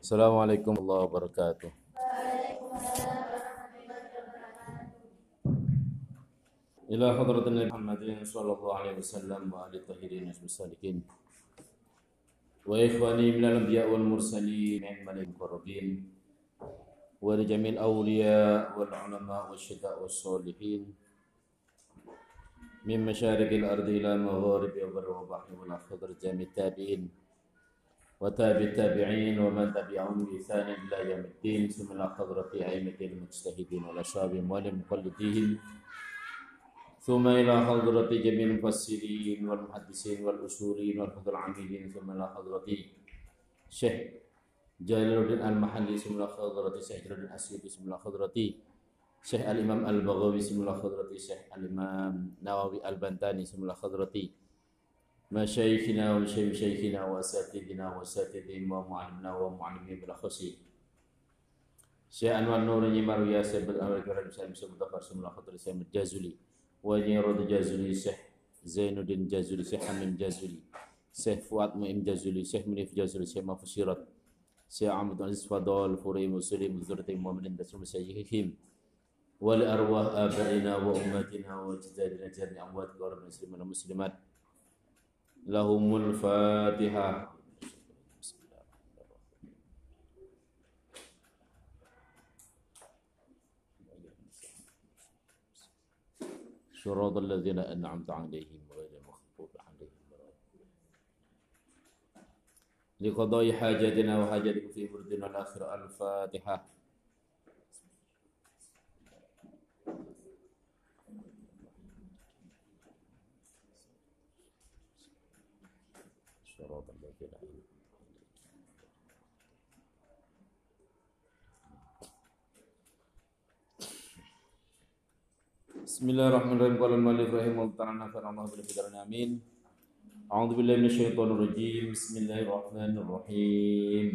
Assalamualaikum warahmatullahi wabarakatuh. Ila hadratin Muhammadin sallallahu alaihi wasallam wa alihi tahirin wasalikin. Wa ikhwani minal anbiya wal mursalin wal muqarrabin wa li jamil awliya wal ulama wasyuhada was solihin min masyariqil ardi ila magharibi wa bahri wal akhir jami' tabi'in wa tabi' tabi'in wa man tabi'ahum bi ihsan ila yaumiddin summa hadrati a'immatil mujtahidin wal ashabihim wal muqallidin ثم إلى حضرة جميع المفسرين والمحدثين والأصولين والفقهاء العاملين ثم إلى حضرة شيخ جلال الدين المحلي ثم إلى حضرة شيخ جلال الدين الأسيوطي ثم إلى حضرة شيخ الإمام البغوي ثم إلى حضرة شيخ الإمام نووي البنتاني ثم إلى حضرة مشايخنا وشيخنا وأساتذتنا وأساتذتهم ومعلمنا ومعلمين بالأخص شيخ أنوار نور نيمار ياسر بالأمر الكريم سالم سمتفر ثم إلى حضرة سيد الجازولي Wajirud Jazuli, Syekh Zainuddin Jazuli, Syekh Hamim Jazuli, Syekh Fuad Mu'im Jazuli, Syekh Munif Jazuli, Syekh Mafusirat, Syekh Ahmad Aziz Fadol, Furi Muslim, Zurati Muhammadin Dasrum Sayyihim, wali arwah abaina wa ummatina wa jadadina jari amwat keluarga muslimin dan muslimat. Lahumul Fatihah. صراط الذين أنعمت عليهم غير المغضوب عليهم لقضاء حاجاتنا وحاجاتكم في بردنا الآخرة. الفاتحة. صراط الذين Bismillahirrahmanirrahim. Qala al-mu'allif rahimahullah ta'ala nafa'ana bil bidaran amin. A'udzu billahi minasyaitonir rajim. Bismillahirrahmanirrahim.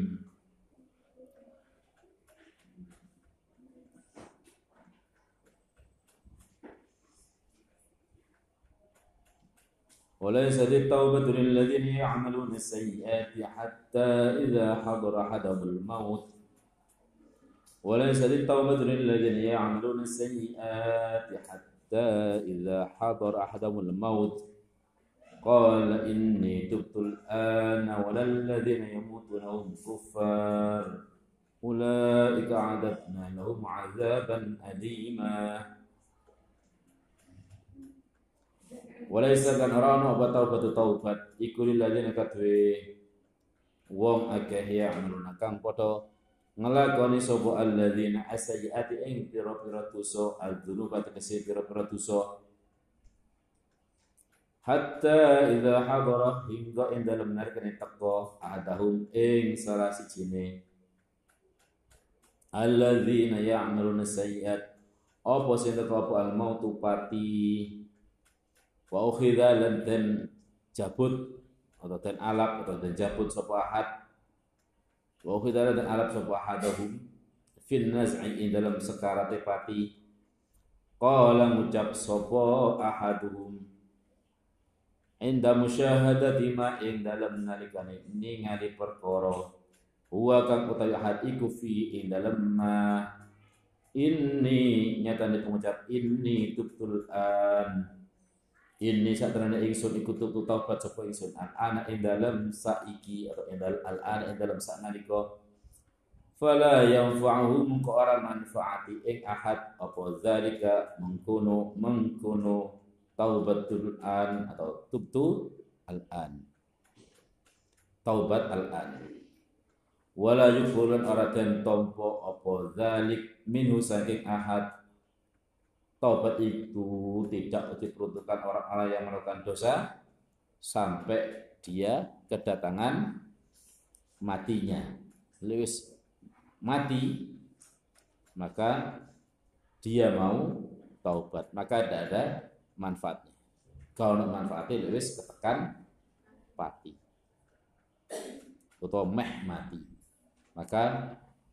وليست التوبة للذين يعملون السيئات حتى إذا حضر أحدهم الموت وليست التوبة للذين يعملون السيئات حتى إذا حضر أحدهم الموت قال إني تبت الآن ولا الذين يموتون وهم كفار أولئك أعددنا لهم عذابا أليما. وليس kan ora ana taubat iku lilladzina katwe wong akeh ya amaluna kang padha ngelakoni sapa alladzina as-sayyiati ing pira-pira dosa al-dzunuba tegese pira-pira dosa hatta idza hadara hingga ing dalem narikane teka adahum ing salah sijine alladzina ya'maluna sayyiat apa sing teka al-mautu pati wa ukhidha lan den jabut atau den alap atau den jabut sapa ahad wa ukhidha lan alap sapa ahadahum fil naz'i dalam sekarate pati qala ngucap sapa ahaduhum inda musyahadati ma ing dalam nalikane ningali perkara huwa kang utawi ahad iku fi ing dalam ma inni nyatane pengucap inni tubtul an ini satrana ingsun iku tutu taubat sapa ingsun ana ing dalem saiki atau ing dalem al-ana ing dalem saknalika fala yanfa'uhum ka ora manfaati ing ahad apa zalika mengkono taubatul an atau tubtu al-an taubat al-an wala yufurun ora den tompo apa zalik minhu saking ahad. Taubat itu tidak diperuntukkan orang-orang yang melakukan dosa sampai dia kedatangan matinya. Lewis mati, maka dia mau taubat, maka tidak ada manfaatnya. Kalau nak manfaatnya lewis ketekan pati atau mati, maka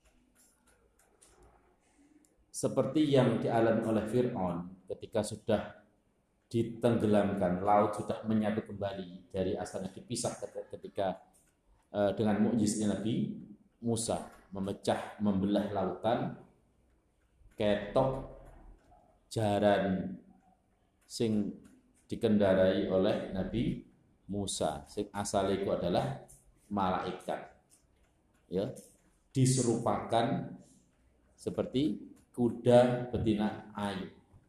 seperti yang dialami oleh Fir'aun ketika sudah ditenggelamkan, laut sudah menyatu kembali dari asalnya dipisah ketika dengan mukjizatnya Nabi Musa memecah membelah lautan ketok jaran sing dikendarai oleh Nabi Musa sing asale itu adalah malaikat, ya, diserupakan seperti kuda betina ayu.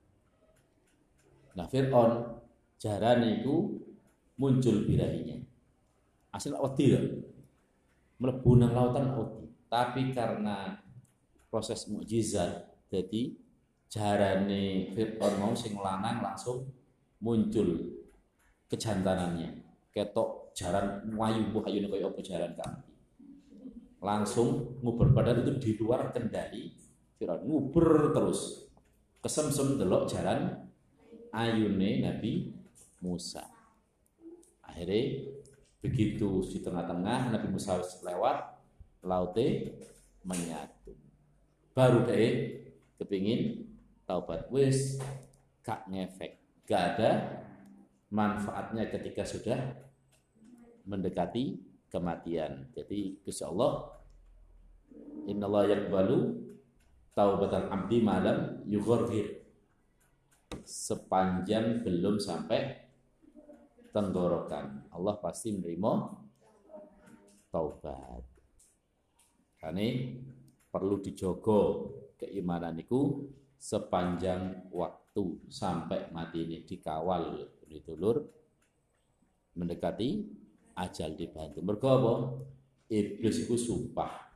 Nah, Fir'aun jarane itu muncul birahinya. Asal wedi lho. Mlebu nang lautan wedi. Tapi karena proses mukjizat, jadi jarane Fir'aun mau sing lanang langsung muncul kejantanannya. Ketok jaran wayu ayune kaya apa jaran kami. Langsung nguber, padahal itu di luar kendali Fir'aun, nguber terus. Kesemsem delok jaran ayune Nabi Musa. Akhirnya begitu di tengah-tengah Nabi Musa lewat, laute menyatu. Baru deh kepingin taubat, wis gak ngefek, gak ada manfaatnya ketika sudah mendekati kematian. Jadi insya Allah innallaha yaqbalu taubatal abdi malam yughargir, sepanjang belum sampai tenggorokan Allah pasti menerima taubat. Karena perlu dijogo keimanan itu sepanjang waktu sampai mati ini, dikawal ditulur mendekati ajal dibantu. Mergo apa? Iblis itu sumpah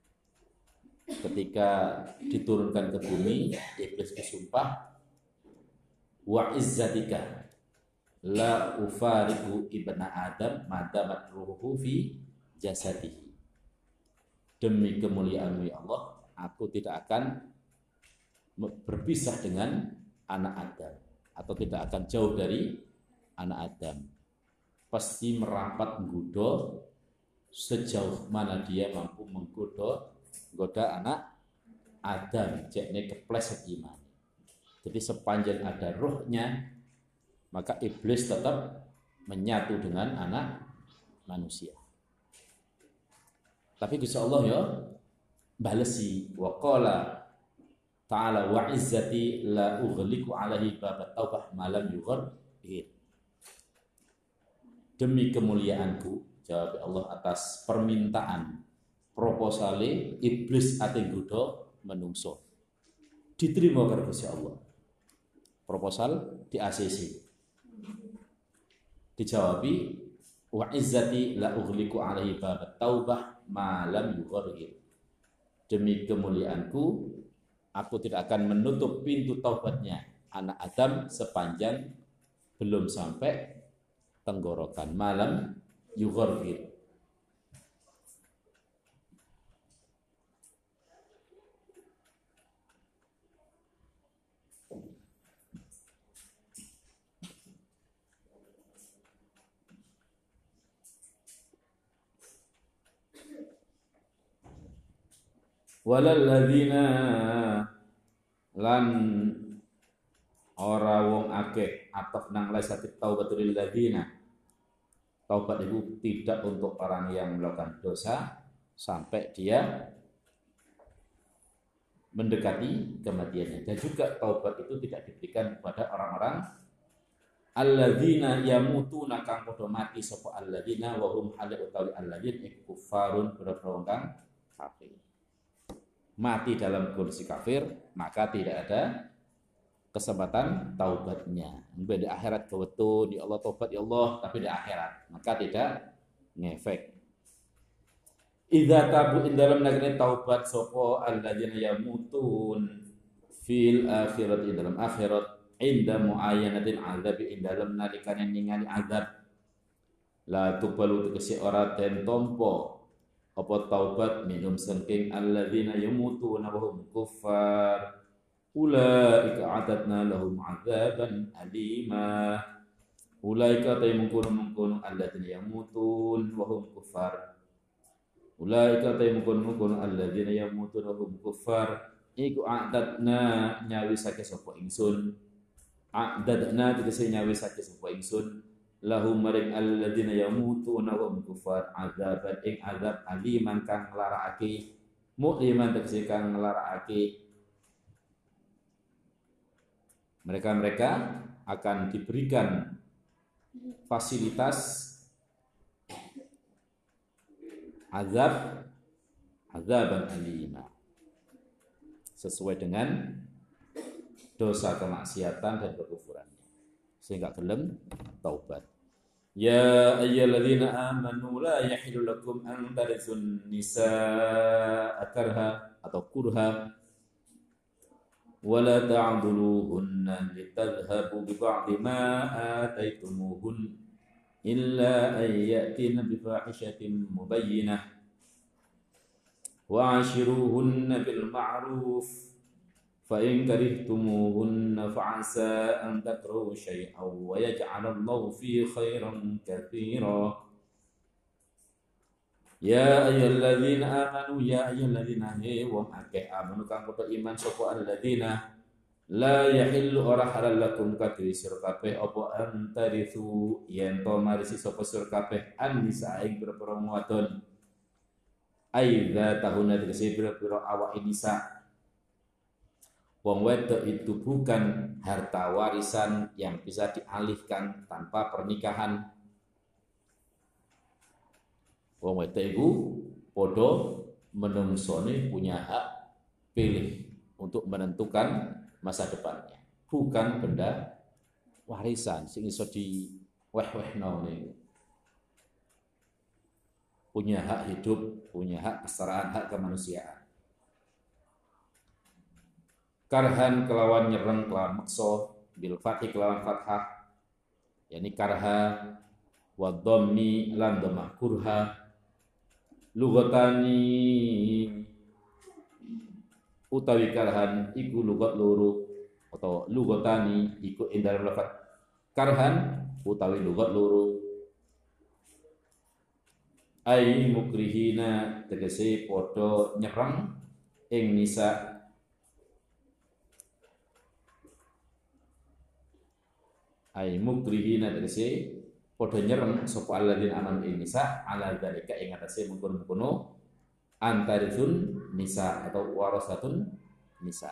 ketika diturunkan ke bumi, iblis bersumpah, wa izzatika la ufariqu ibna adam madamat ruhuhu fi jasadihi. Demi kemuliaan-Mu ya Allah, aku tidak akan berpisah dengan anak Adam, atau tidak akan jauh dari anak Adam. Pasti merapat menggoda sejauh mana dia mampu menggoda anak Adam, jekne kepleset iman. Jadi sepanjang ada rohnya, maka iblis tetap menyatu dengan anak manusia. Tapi Gusti Allah ya balesi, wa qala ta'ala wa izzati la ughliqu alaihi babat taubah malam yughargir. Demi kemuliaanku, jawab Allah atas permintaan proposale iblis ate nggodha menungso. Diterima karo Gusti Allah. Proposal di ACC. Dijawabi wa izzati la ughliqu alaihi babat taubah malam yughargir. Demi kemuliaanku, aku tidak akan menutup pintu taubatnya anak Adam sepanjang belum sampai tenggorokan. Malam yughargir. Walal ladzina lan ora wong akeh atau nang laisatit taubatul lil ladzina. Taubat itu tidak untuk orang yang melakukan dosa sampai dia mendekati kematiannya. Dan juga taubat itu tidak diberikan kepada orang-orang alladzina yamutuna kang padha mati sapa alladzina wa hum hal utawi alladzina kuffarun berperang kafir. Mati dalam kondisi kafir, maka tidak ada kesempatan taubatnya. Di akhirat kewetun, ya Allah taubat ya Allah, tapi di akhirat maka tidak ngefek. Idza tabu ing dalam negeri taubat sapa alladzina yamutun fil akhirat ing dalam akhirat inda muayyanatil azab ing dalam nalikane ningali azab la tuqbalu tegese ora den tampa apa taubat minum saking alladzina yamutuna wa hum kuffar ulaika a'tadna lahum 'adzaban alima. Ulaika taymukun alladzina yamutun wa hum kuffar. Ulaika taymukun alladzina yamutun wa hum kuffar iku a'tadna nyawisake sapa ingsun. A'tadna tegese nyawisake sapa ingsun lahum maring alladzina yamutuna wa hum kufar adzaban ing azab aliman kang nglarakake mu'liman tegese kang nglarakake mereka akan diberikan fasilitas azaban alima sesuai dengan dosa kemaksiatan dan kekufurannya sehingga gelem taubat. Ya ayyuhalladzina amanu la yahillu lakum an taritsun nisaa karha atau kurha wa la ta'dhuluhunna litadhhabu bi ba'di ma ataitumuhun illa an ya'tina bi fahishatin mubayyinah wa 'ashiruhunna bil ma'ruf fa in karihtumuhunna fa 'asa an takrahu syai'an wa yaj'alallahu fi khairan katsira. Ya ayyuhalladzina amanu ya ayyuhalladzina wong akeh amanu kang padha iman sapa alladzina la yahillu ora halal lakum kadhi sira kabeh apa antarithu yen to marisi sapa sira kabeh an-nisa ing pira-pira wadon aidza tahuna tegese pira-pira awak nisa. Wong wedok itu bukan harta warisan yang bisa dialihkan tanpa pernikahan. Wong wedok itu podo menungsone punya hak pilih untuk menentukan masa depannya. Bukan benda warisan sing iso di weh-wehno niku. Punya hak hidup, punya hak kesetaraan, hak kemanusiaan. Karhan kelawan nyereng kelawan makso bil fathi kelawan fathah yakni karha wa dhammi lan dhamma kurha lugatani utawi karhan iku lugat loro atau lugatani iku ing dalem lafaz karhan utawi lugat loro ai mukrihina tegese padha nyereng ing nisa ay mukrihina tegese padha nyereng sapa alladzina amanu ing nisa ala dzalika ing atase mungkon-mungkono antarithun nisa atau warasatun nisa.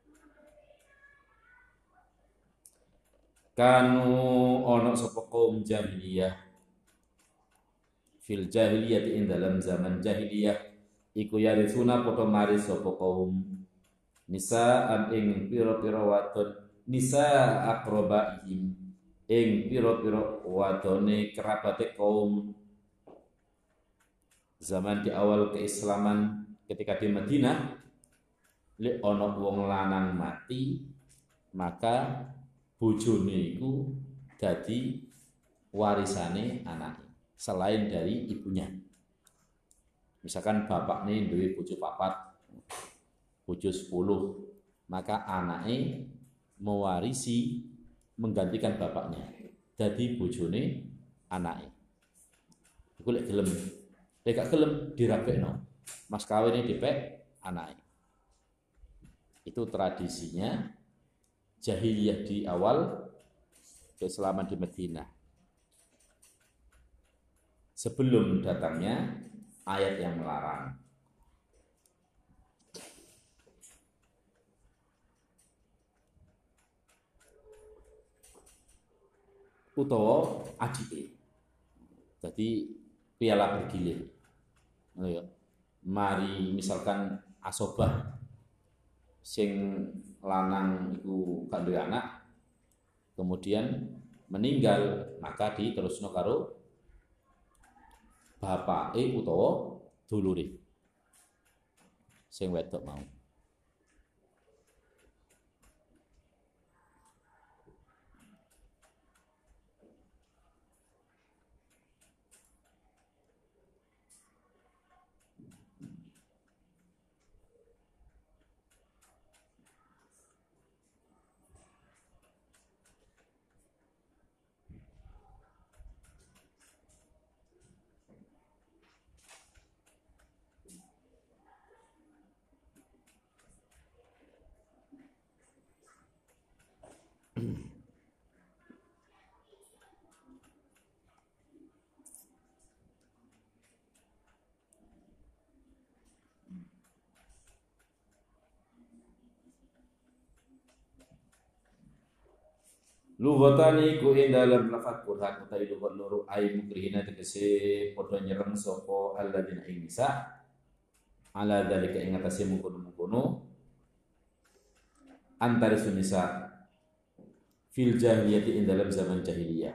Kanu ana sapa kaum jahiliyah fil jahiliyah ing dalam zaman jahiliyah iku yarithuna padha maris sapa kaum nisa an ing pira-pira wadon nisa aqrabaihim ing pira-pira wadone kerabate kaum zaman di awal keislaman ketika di Madinah lek ana wong lanang mati maka bojone iku dadi warisane anake selain dari ibunya. Misalkan bapakne duwe bojo 4 bojo 10 maka anake mewarisi menggantikan bapaknya dadi bojone anake. Iku lek gelem. Lek gak gelem dirabekno. Mas kawine dipek anake. Itu tradisinya jahiliyah di awal keislaman di Madinah. Sebelum datangnya ayat yang melarang. Utawa adike. Jadi piala bergilir. Mari misalkan asobah sing lanang iku gak duwe anak kemudian meninggal maka diterusno karo bapake utawa dulure sing wedok mau. Lughatani ku ing dalam lafaz Qur'an utawi lughat loro ay mukrihina tegese padha nyereng sapa alladzina ing nisa ala dzalika ing atase mungkono-mungkono antara sunisa fil jahiliyati ing dalam zaman jahiliyah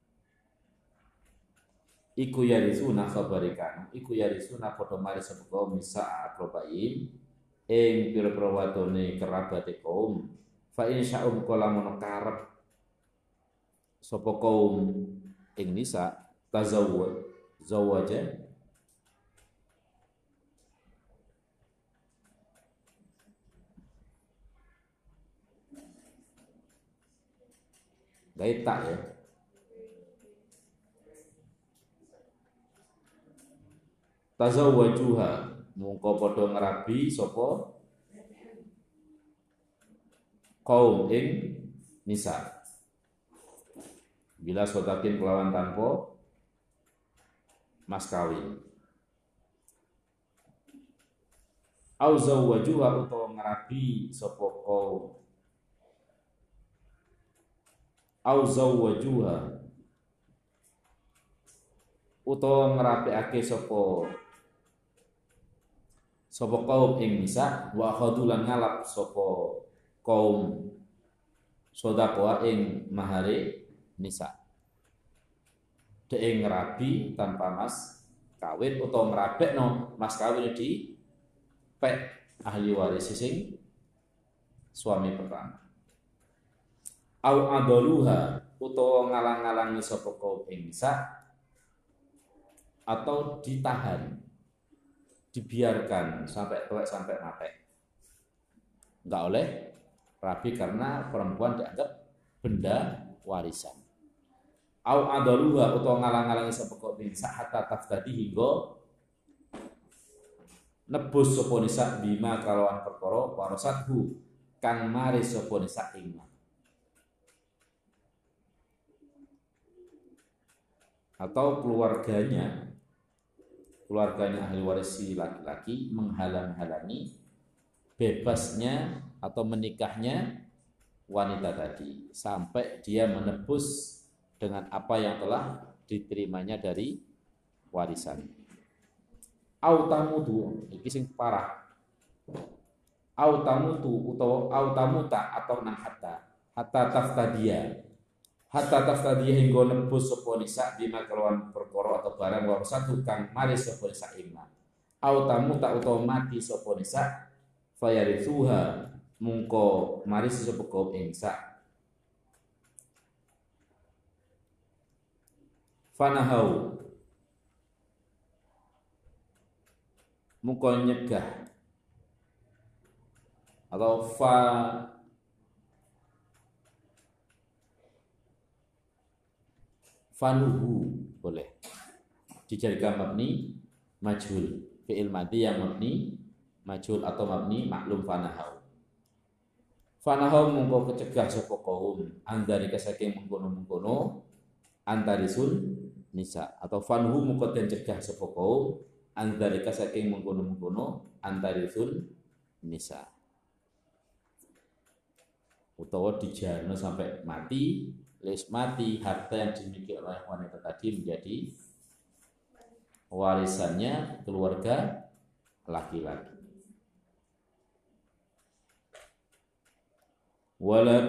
iku yarisuna khabarikan iku yarisuna padha mari sapa kaum nisa akrobain ing pira-pira wadone kerabate kaum fa insya'um kala mono karep sapa kaum ing nisa zawaja gaita ya tazawwajuha mungko padha ngrabi sapa kaum ing nisa bila sodakin kelawan tanpa mas kawin au zawwajuha utawa ngrabi sapa kaum au zawwajuha utawa ngrapiake sapa kaum ing nisa wa khadulan ngalap sapa kaum sedekah ing mahare nisa dhek ngrabi tanpa mas kawin utawa ngrabekno mas kawin di pek ahli waris sing suami pertama au adaluha utawa ngalang-alangi sapa kaum ing nisa atau ditahan dibiarkan sampai tuwek sampai mati enggak oleh rabi karena perempuan dianggap benda warisan au adaluha utawa ngalang-alangi sapa kaum ing nisa hatta taftadi hingga nebus sapa nisa bima kalawan perkara warasathu kang mari sapa nisa ing atau keluarganya ahli waris si laki-laki menghalang-halangi bebasnya atau menikahnya wanita tadi sampai dia menebus dengan apa yang telah diterimanya dari warisan. Autamutu iki sing parah. Autamutu utawa autamuta atau nang hatta taftadiya hingga nebus sapa nisa bima kelawan perkara atau barang warasatu kang mari sapa nisa ima. Autamuta utawa mati sapa nisa fayarithuha mungko mari sapa kaum nisa. Fanahau mungko nyegah atau fanuhu boleh dijadikan mabni majhul fi'il madhi yang mabni majhul atau mabni maklum fanahau mungko kecegah sapa kaum andari saking mengkono-mengkono antarisun nisa atau fanhu mungko den cegah sapa kaum andari saking mengkono-mengkono antarisun nisa utawa dijarno sampai mati harta yang dimiliki oleh wanita tadi menjadi warisannya keluarga laki-laki. Wala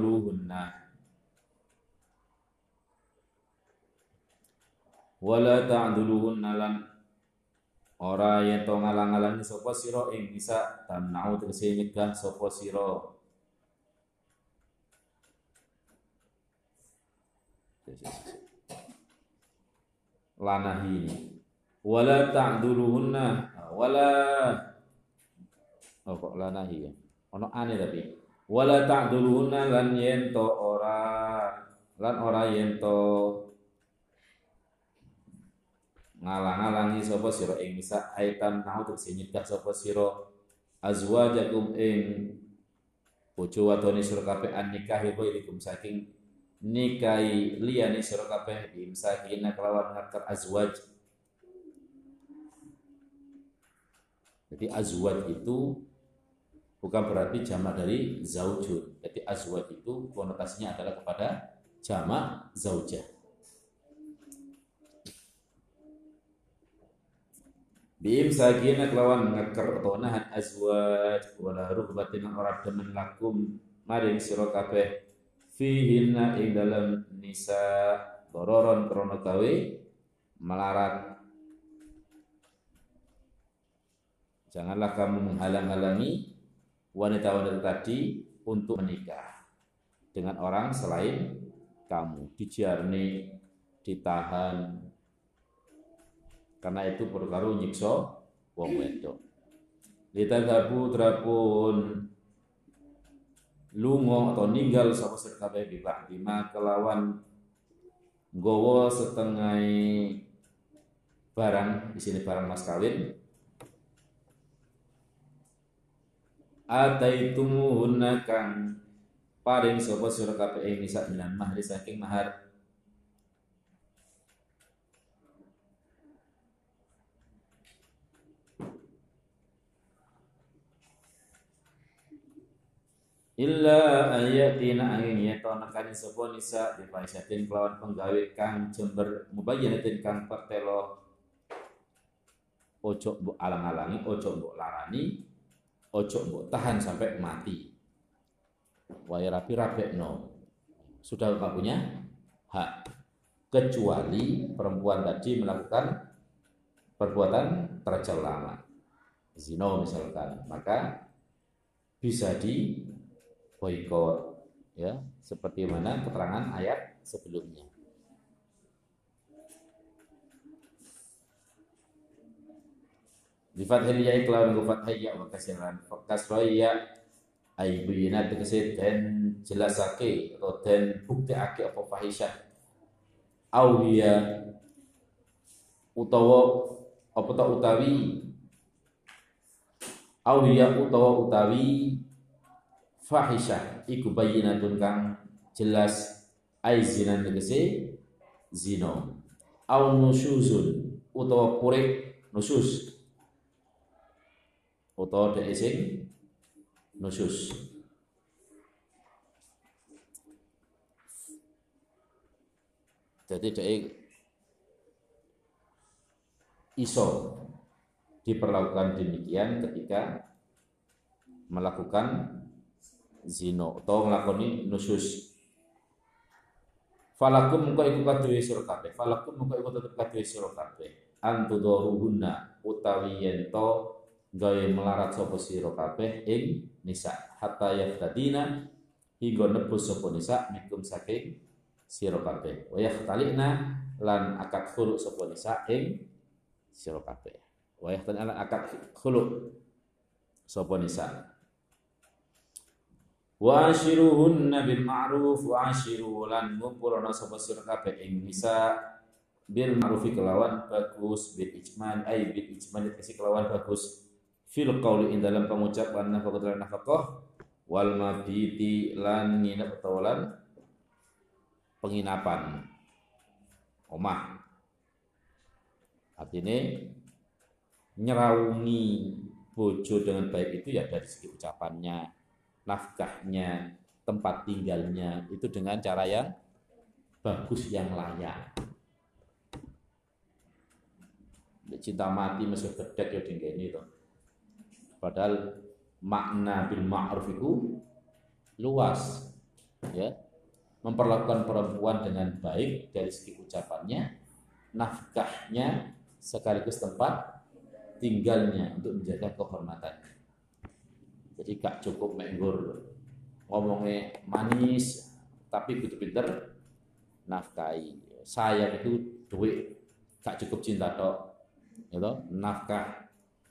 ta'duluhunna lan ora yen to ngalang-alangi sapa sira ing nisa tamna'u tegese nyegah sapa sira lanahi wala ta'duluhunna wala kok lanahi ya ono ane tapi wala ta'duluhunna lan yen to ora yen to ngalang-alangi sapa sira ing nisa aitan nau tegese nyegah sapa sira azwajakum ing bojo wadone sira kabeh an nikahi bainakum saking nikahi liyane sira kabeh imsakina kelawan ngatur azwaj. Jadi azwaj itu bukan berarti jamak dari zaujun. Jadi azwaj itu konotasinya adalah kepada jamak zaujah. Bim sagina kelawan ngekar atau nahan azwaj wala rugbatin ora demen lakum maring sira kabeh fihinna ing dalam nisa dororon krana gawe melarat. Janganlah kamu menghalang-halangi wanita-wanita tadi untuk menikah dengan orang selain kamu, dijarni, ditahan, karena itu perkara nyiksa wong wedok. Litadhabu drapun lunga atau ninggal sapa sira kabeh bibak lima kelawan nggawa setengah barang, di sini barang mas kawin. Ataitumuhunna kang paring sapa sira kabeh ing nisa minan mahri saking mahar. Illa ayatina angin yeto nekani sapa nisa di faisatin kelawan penggawe kang jember mubayyanatin kang pertelo ojo mbok alang-alangi, ojo mbok larani, ojo mbok tahan sampai mati. Wae rapi-rapekno. Sudah Bapak punya hak, kecuali perempuan tadi melakukan perbuatan tercela, zina misalkan, maka bisa di boikot, ya, seperti mana keterangan ayat sebelumnya. Di fathil ya iklawan gufat hayya wa kasiran kasroya aibuyina tegese den jelasake atau den buktiake apa fahisyah awiya utawa apa ta utawi awiya utawa utawi fahisyah iku bayyinatun kang jelas ai zina tegese zina au nusyuzun utawa purik nusyuz utawa dhek sing nusyuz. Jadi dhek iso diperlakukan demikian ketika melakukan zina atau nglakoni nusyuz. Falakum mengko iku kaduwe sira kabeh. Falakum mengko iku tetep kaduwe sira kabeh. Antudaruhunna utawi yen to gawe melarat sapa sira kabeh ing nisa hatta yaftadina hingga nebus sapa nisa mikum saking sira kabeh. Wa yakhtalina lan akad khulu sapa nisa ing sira kabeh. Wa yakhtalina lan akad khulu sapa nisa. Wa ashiruhunna bil ma'ruf wa ashiru lan ngumpulana sapa sira kabeh ing nisa bil ma'ruf kelawan bagus bil ijman ay bil ijman dikasih kelawan bagus fil qauli ing dalam pengucapan nafaqah wal mabiti lan nginep utawalan penginapan omah. Artinya nyeraungi bojo dengan baik itu ya dari segi ucapannya, nafkahnya, tempat tinggalnya itu dengan cara yang bagus, yang layak. Cinta mati masih gedek ya dingene to. Padahal makna bil ma'ruf itu luas, ya, memperlakukan perempuan dengan baik dari segi ucapannya, nafkahnya, sekaligus tempat tinggalnya untuk menjaga kehormatannya. Jadi gak cukup menggur ngomongnya manis, tapi kudu pinter nafkahi. Sayang itu duit, gak cukup cinta tok, gitu, nafkah.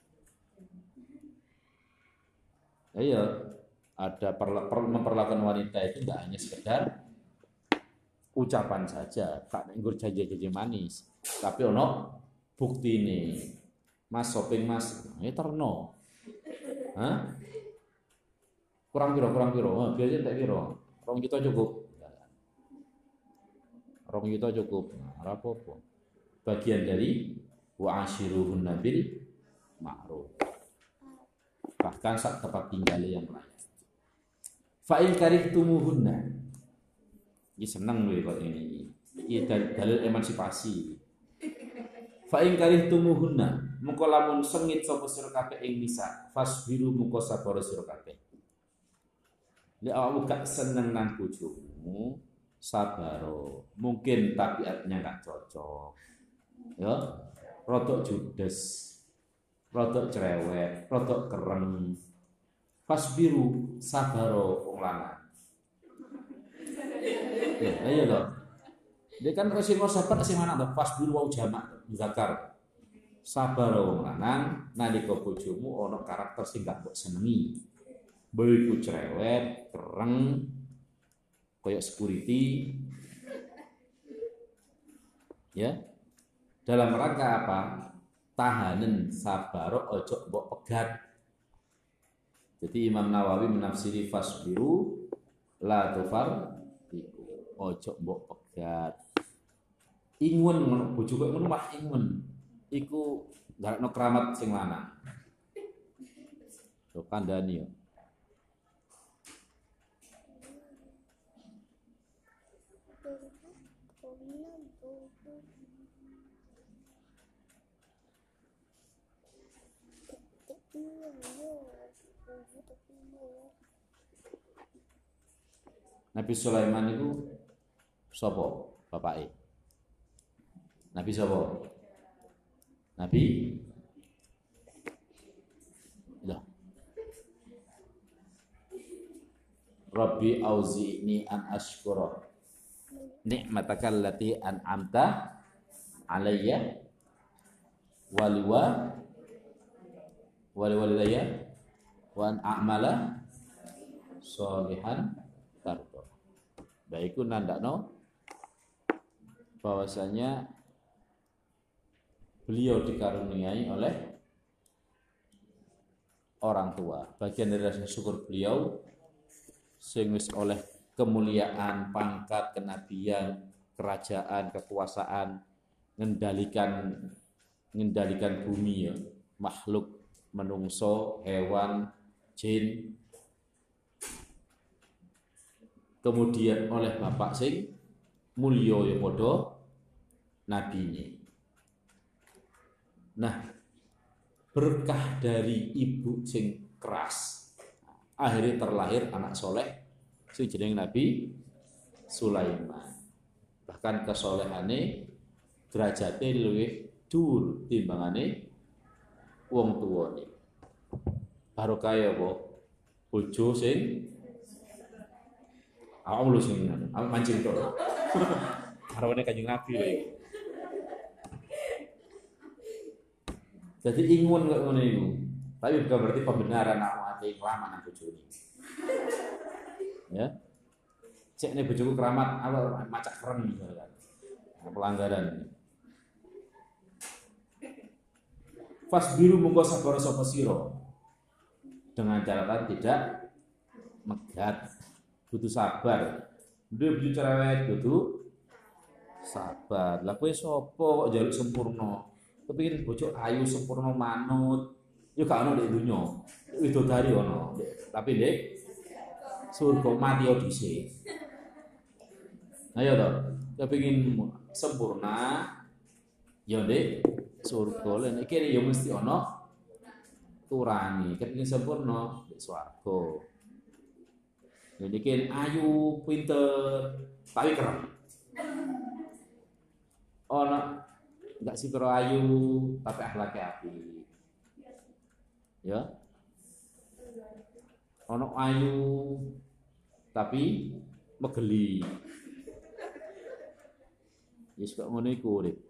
Iya, ada memperlakukan wanita itu tidak hanya sekedar ucapan saja, tak nggur janji-janji manis, tapi ono bukti ini. Mas shopping mas, ini terno, hah? Kurang piro, biasanya tak piro, 2 juta cukup, 2 juta cukup, apa-apa. Bagian dari wa ashiruhunna bil ma'ruf. bahkan sak tempat tinggal yang layak. Fa in karihtumuhunna. Iki seneng lho kok ini. Iki dalil emansipasi. Fa in karihtumuhunna, mengko lamun sengit sapa sira kabeh ing nisa, fasbiru mengko sabar sira kabeh. Nek awakmu gak seneng nang bojomu, sabaro. Mungkin tabiatnya gak cocok. Ya, rodok judes, rodok cerewet, rodok kereng. Fasbiru sabaro wong lanang. Ya, ayo lho. Dia kan sing sabar sing lanang to, fasbiru wau jamak zakar. Sabaro wong lanang nalika bojomu ana karakter sing gak mbok senengi. Mbok iku cerewet, kereng, koyo security. Ya. Dalam rangka apa? Tahanan sabaro ojo mbok pegat. Jadi Imam Nawawi menafsiri fasbiru la tufar iku ojo mbok pegat. Ingun ngono bojo kok ngono mah ingun. Iku garakno keramat sing lanang. Yo kandhani yo. Nabi Sulaiman itu sapa bapake? Nabi sapa? Nabi lah. Rabbi auzi'ni an ashkura ni'mataka allati an'amta alayya walidayya wa an a'mala sholihan tardo. Baiku nandakno bahwasanya beliau dikaruniai oleh orang tua. Bagian dari rasa syukur beliau sing wis oleh kemuliaan, pangkat, kenabian, kerajaan, kekuasaan, ngendalikan bumi ya, makhluk menungso, hewan, jin. Kemudian oleh bapak sing mulya ya padha nabine. Nah, berkah dari ibu sing keras, akhirnya terlahir anak soleh sing jeneng Nabi Sulaiman. Bahkan kesolehane derajate luwih dhuwur timbangane wong tuwane. Barokah ya apa? Bojo sing awak sing mancing to. Harawane Kanjeng Nabi lho iki. Jadi ingun kok ngono iku. Tapi bukan berarti pembenaran awak ate keramat nang bojone. Ya. Cek nek bojoku keramat awak macak keren misalkan. Pelanggaran. Fasbiru mungko sabar sapa sira. Dengan catatan tidak megat. Butuh sabar. Duwe bojo cerewet butuh sabar. Lah kowe sapa kok njaluk sempurna? Kepingin bojo ayu sempurna manut, yo gak ono nek donya. Widodari ono, tapi nek surga mati yo dhisik. Ayo to, kepingin sempurna yo nek surga. Nek kene yo mesti ono turani. Kepingin sempurna nek swarga. Nek kene ayu, pinter, tapi keren. Ono enggak sih ayu tapi akhlaknya apik. Ya. Ono ayu tapi megeli. Wis kok ngono iku urip.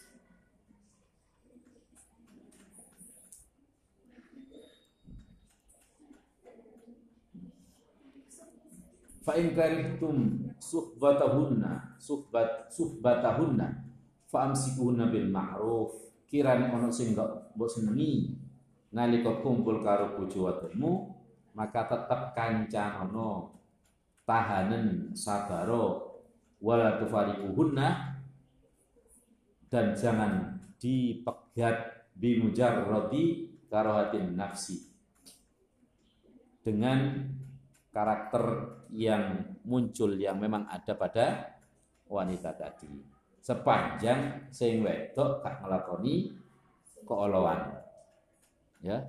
Fa in karihtum suhbatahunna fa'amsikuhunna bil ma'ruf. Kirane ono sing gak mbok senengi nalika kumpul karo bojo wadonmu, maka tetep kancanono, tahanen sabaro, wala tufariquhunna, dan jangan dipegat bimujarradi karahatin nafsi, dengan karakter yang muncul yang memang ada pada wanita tadi. Sepanjang sing wedok gak nglakoni keolowan. Ya.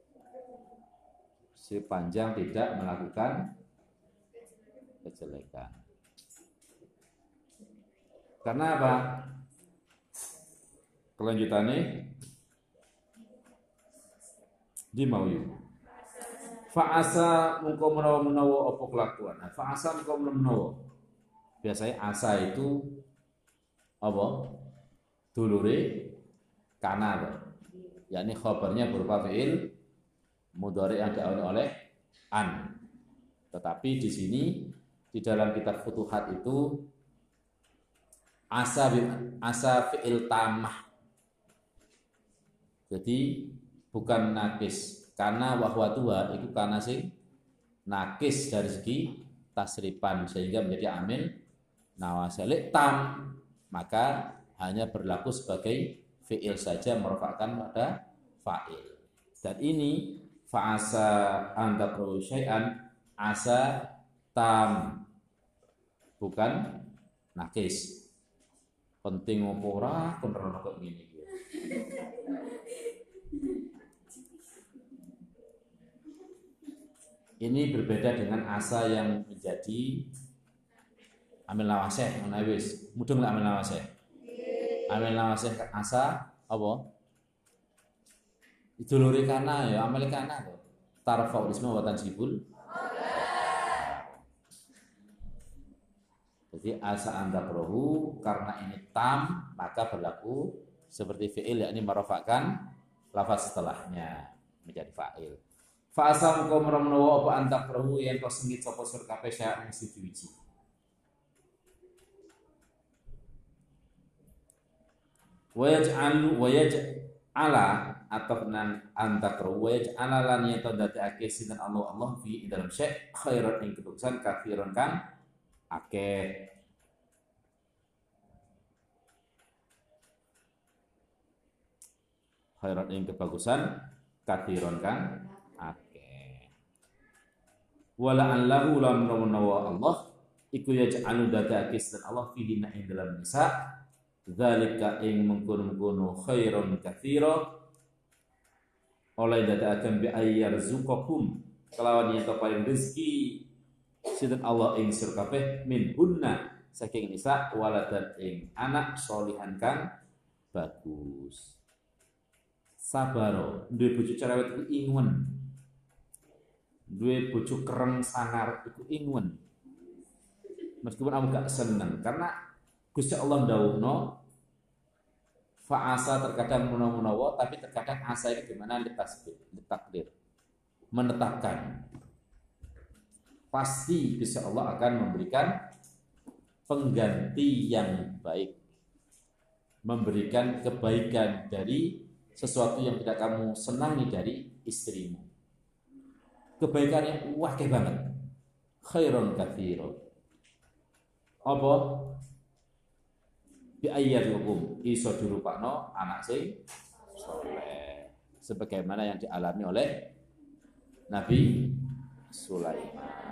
Sepanjang tidak melakukan kejelekan. Karena apa? Kelanjutannya di mauyu. Fa'asa mungko menawa apa kelakuan. Fa'asa mungko menawa. Biasanya asa itu apa? Dulure kana, yakni khabarnya berupa fi'il mudhari yang diawali oleh an. Tetapi di sini di dalam kitab Futuhat itu asa fi'il tamah. Jadi bukan nakis. Karena wahwa tua itu karena sing nakis dari segi tasrifan sehingga menjadi amil nawasalik tam, maka hanya berlaku sebagai fi'il saja merofakkan pada fa'il. Dan ini fa'asa antakru syai'an asa tam, bukan nakis. Penting apa ora kontrol kok ngene iki. Ini berbeda dengan asa yang menjadi amil nawasih, menawis. Mudeng amil nawasih. Amil nawasih asa apa? Iduluri kana ya, amil kana to. Tarfa'ul isma wa tansibul. Jadi asa antakrahu karena ini tam maka berlaku seperti fi'il, yakni merofakkan lafaz setelahnya menjadi fa'il. Fa'asa mengko menawa apa antakrahu yen to sengit sapa sur kabeh sya ing siji-wiji. Wayaj'ala atau nan antakrahu wayaj'ala lan yen to dadekake sinten Allah fi dalam syai' khairan ing kedusan kafiron kan akeh. Khairan ing kebagusan kafiron kan akeh. Wala allahu lam nawa Allah iku yaj'alu dadake dan Allah fihi na ing dalam nisa zalika ing mengkono-mengkono khairon katsira oleh dadake bi ayyarzuqakum kelawan yen paring rezeki sinten Allah ing sir kabeh min hunna saking nisa waladan ing anak solihan kang bagus. Sabaro duwe bojo cerewet iku ingun, duwe bojo kereng sangar iku ingun. Meskipun aku gak seneng karena Gusti Allah ndawuhno fa'asa terkadang menawa tapi terkadang asa itu gimana ditakdir menetapkan pasti Gusti Allah akan memberikan pengganti yang baik, memberikan kebaikan dari sesuatu yang tidak kamu senangi dari istrimu. Kebaikannya wakil banget. Khairun katsira. Apa? Bi ayyatukum iso dirupakno anak sing saleh. Sebagaimana yang dialami oleh Nabi Sulaiman.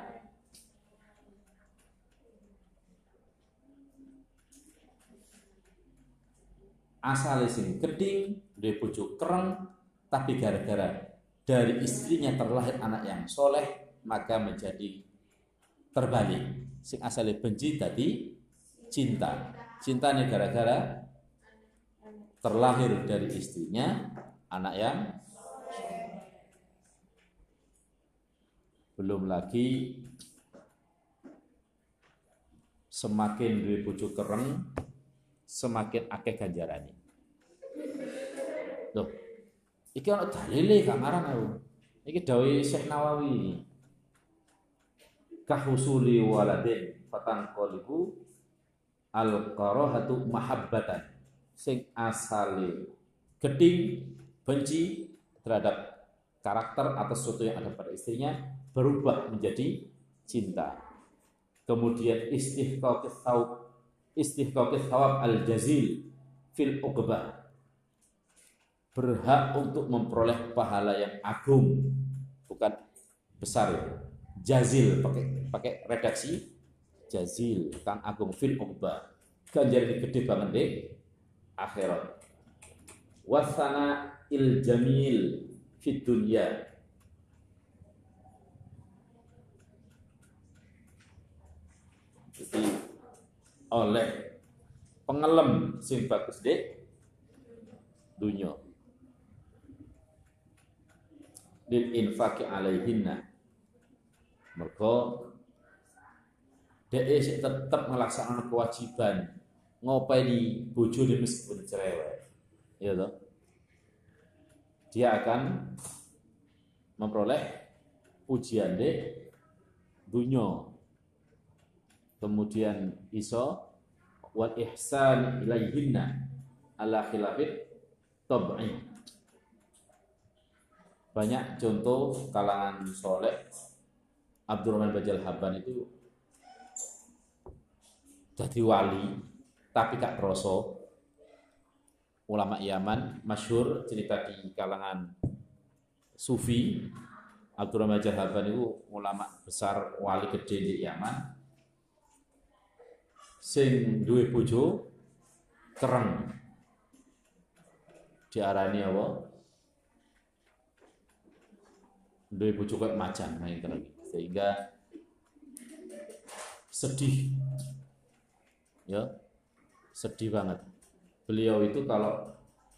Asale sing geding, duwe bojo kereng, tapi gara-gara dari istrinya terlahir anak yang soleh, maka menjadi terbalik. Sing asale benci tadi cinta. Cintanya gara-gara terlahir dari istrinya anak yang belum lagi semakin duwe bojo kereng, semakin akeh ganjarane. Loh, iki ana dalile gak ngarang aku. Iki dawuh Syekh Nawawi. Kahusuli waladin fatan qalibu al-qarahatu mahabbatan. Sing asale geding benci terhadap karakter atau sesuatu yang ada pada istrinya berubah menjadi cinta. Kemudian istihqaqis thawab al-jazil fil uqbah, berhak untuk memperoleh pahala yang agung, bukan besar itu. Jazil pakai redaksi jazil kang agung fil uqba. Ganjaran gede banget deh akhirat. Wasana il jamil fid dunya. Jadi oleh pengelem sing bagus deh dunya lil infaqi alaihinna, mergo dhek sik tetep ngelaksanakan kewajiban ngopeni bojone meskipun cerewet, ya toh, dia akan memperoleh ujian deh dunya, kemudian iso wal ihsan ilaihinna ala khilafit tab'i. Banyak contoh kalangan soleh. Abdurrahman Bajal Habban itu jadi wali tapi gak kroso. Ulama Yaman masyhur cerita di kalangan sufi. Abdurrahman Bajal Habban itu ulama besar, wali gede di Yaman, sing duwe bojo kereng, diarani apa? Duwe bojo kayak macan main kereng, sehingga sedih, ya sedih banget. Beliau itu kalau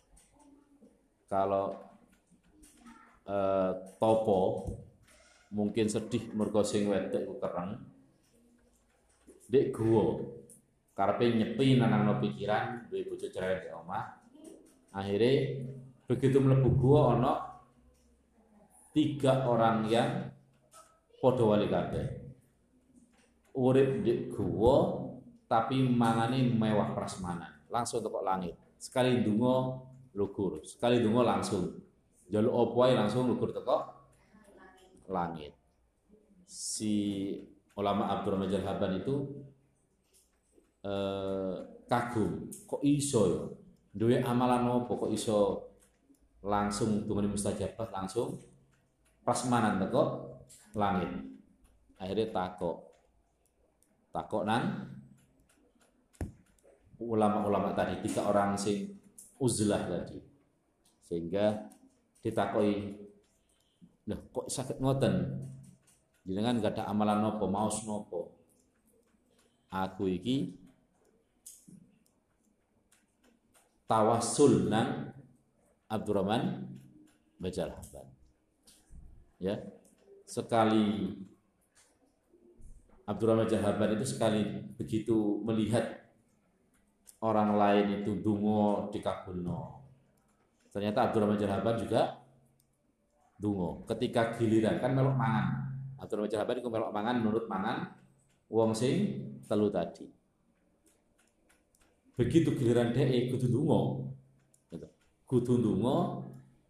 topo mungkin sedih mergo sing wedok ku kereng, dek guwa karepe nyepi nanangno pikiran duwe bojo cerewet di omah. Akhirnya begitu mlebu guwa ana 3 orang yang padha wali kabeh. Urip di guwa tapi mangane mewah prasmanan, langsung tekok langit. Sekali ndonga lugur, sekali ndonga langsung njaluk apa ae langsung lugur tekok langit. Si ulama Abdurrahman Bajal Habban itu kagum, kok iso ya duwe amalan apa kok iso langsung tunggu mustajabah, langsung prasmanan teko langit. Akhirnya takok nang ulama-ulama tadi, 3 orang sing uzlah tadi, sehingga ditakoi, loh kok sakit ngoten jenengan gak ada amalan nopo, maos nopo? Aku iki tawassul nang Abdurrahman Bajal Habban. Ya, sekali Abdurrahman Bajal Habban itu sekali begitu melihat orang lain itu dungo dikabulno, ternyata Abdurrahman Bajal Habban juga dungo. Ketika giliran kan melok mangan, Abdurrahman Bajal Habban iku melok mangan menurut mangan wong sing telu tadi. Begitu giliran dhek kudu dungo, kudu dungo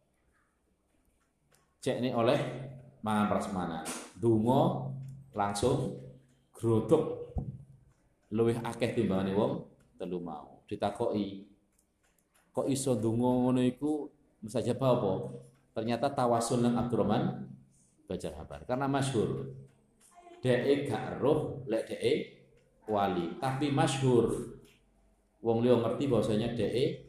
cekne oleh mangan prasmanan, dungo langsung grodok luwih akeh timbangane wong telu mau. Ditakoki, kok iso dungo ngono iku mustajabah apa? Ternyata tawasul nang Abdurrahman Bajal Habban karena masyhur dhek gak roh lek dhek wali, tapi masyhur wong liya ngerti bahwasanya dhek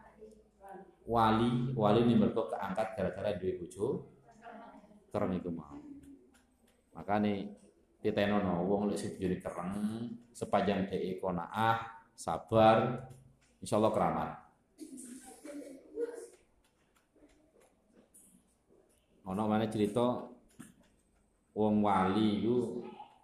wali ini mergo keangkat gara-gara duwe bojo kereng iku mau. Makane ditenono wong lek sing bojone kereng sepanjang dhek qanaah, sabar, insyaallah keramat. Ana maneh cerita wong wali iku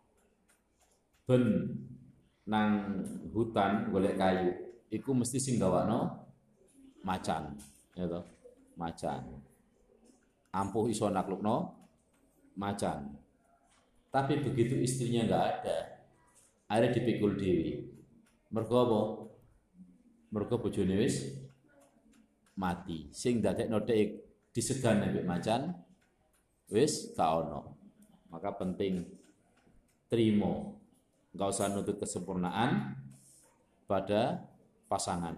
ben nang hutan golek kayu, iku mesti sing gawakno macan, ya toh, macan. Ampuh iso naklukno macan. Tapi begitu istrinya enggak ada, akhirnya dipikul dewi. Mergo apa? Mergo bojone wis mati. Sing dadekno dhek disegan ambek macan wis gak ono. Maka penting trimo, enggak usah nuntut kesempurnaan pada pasangan.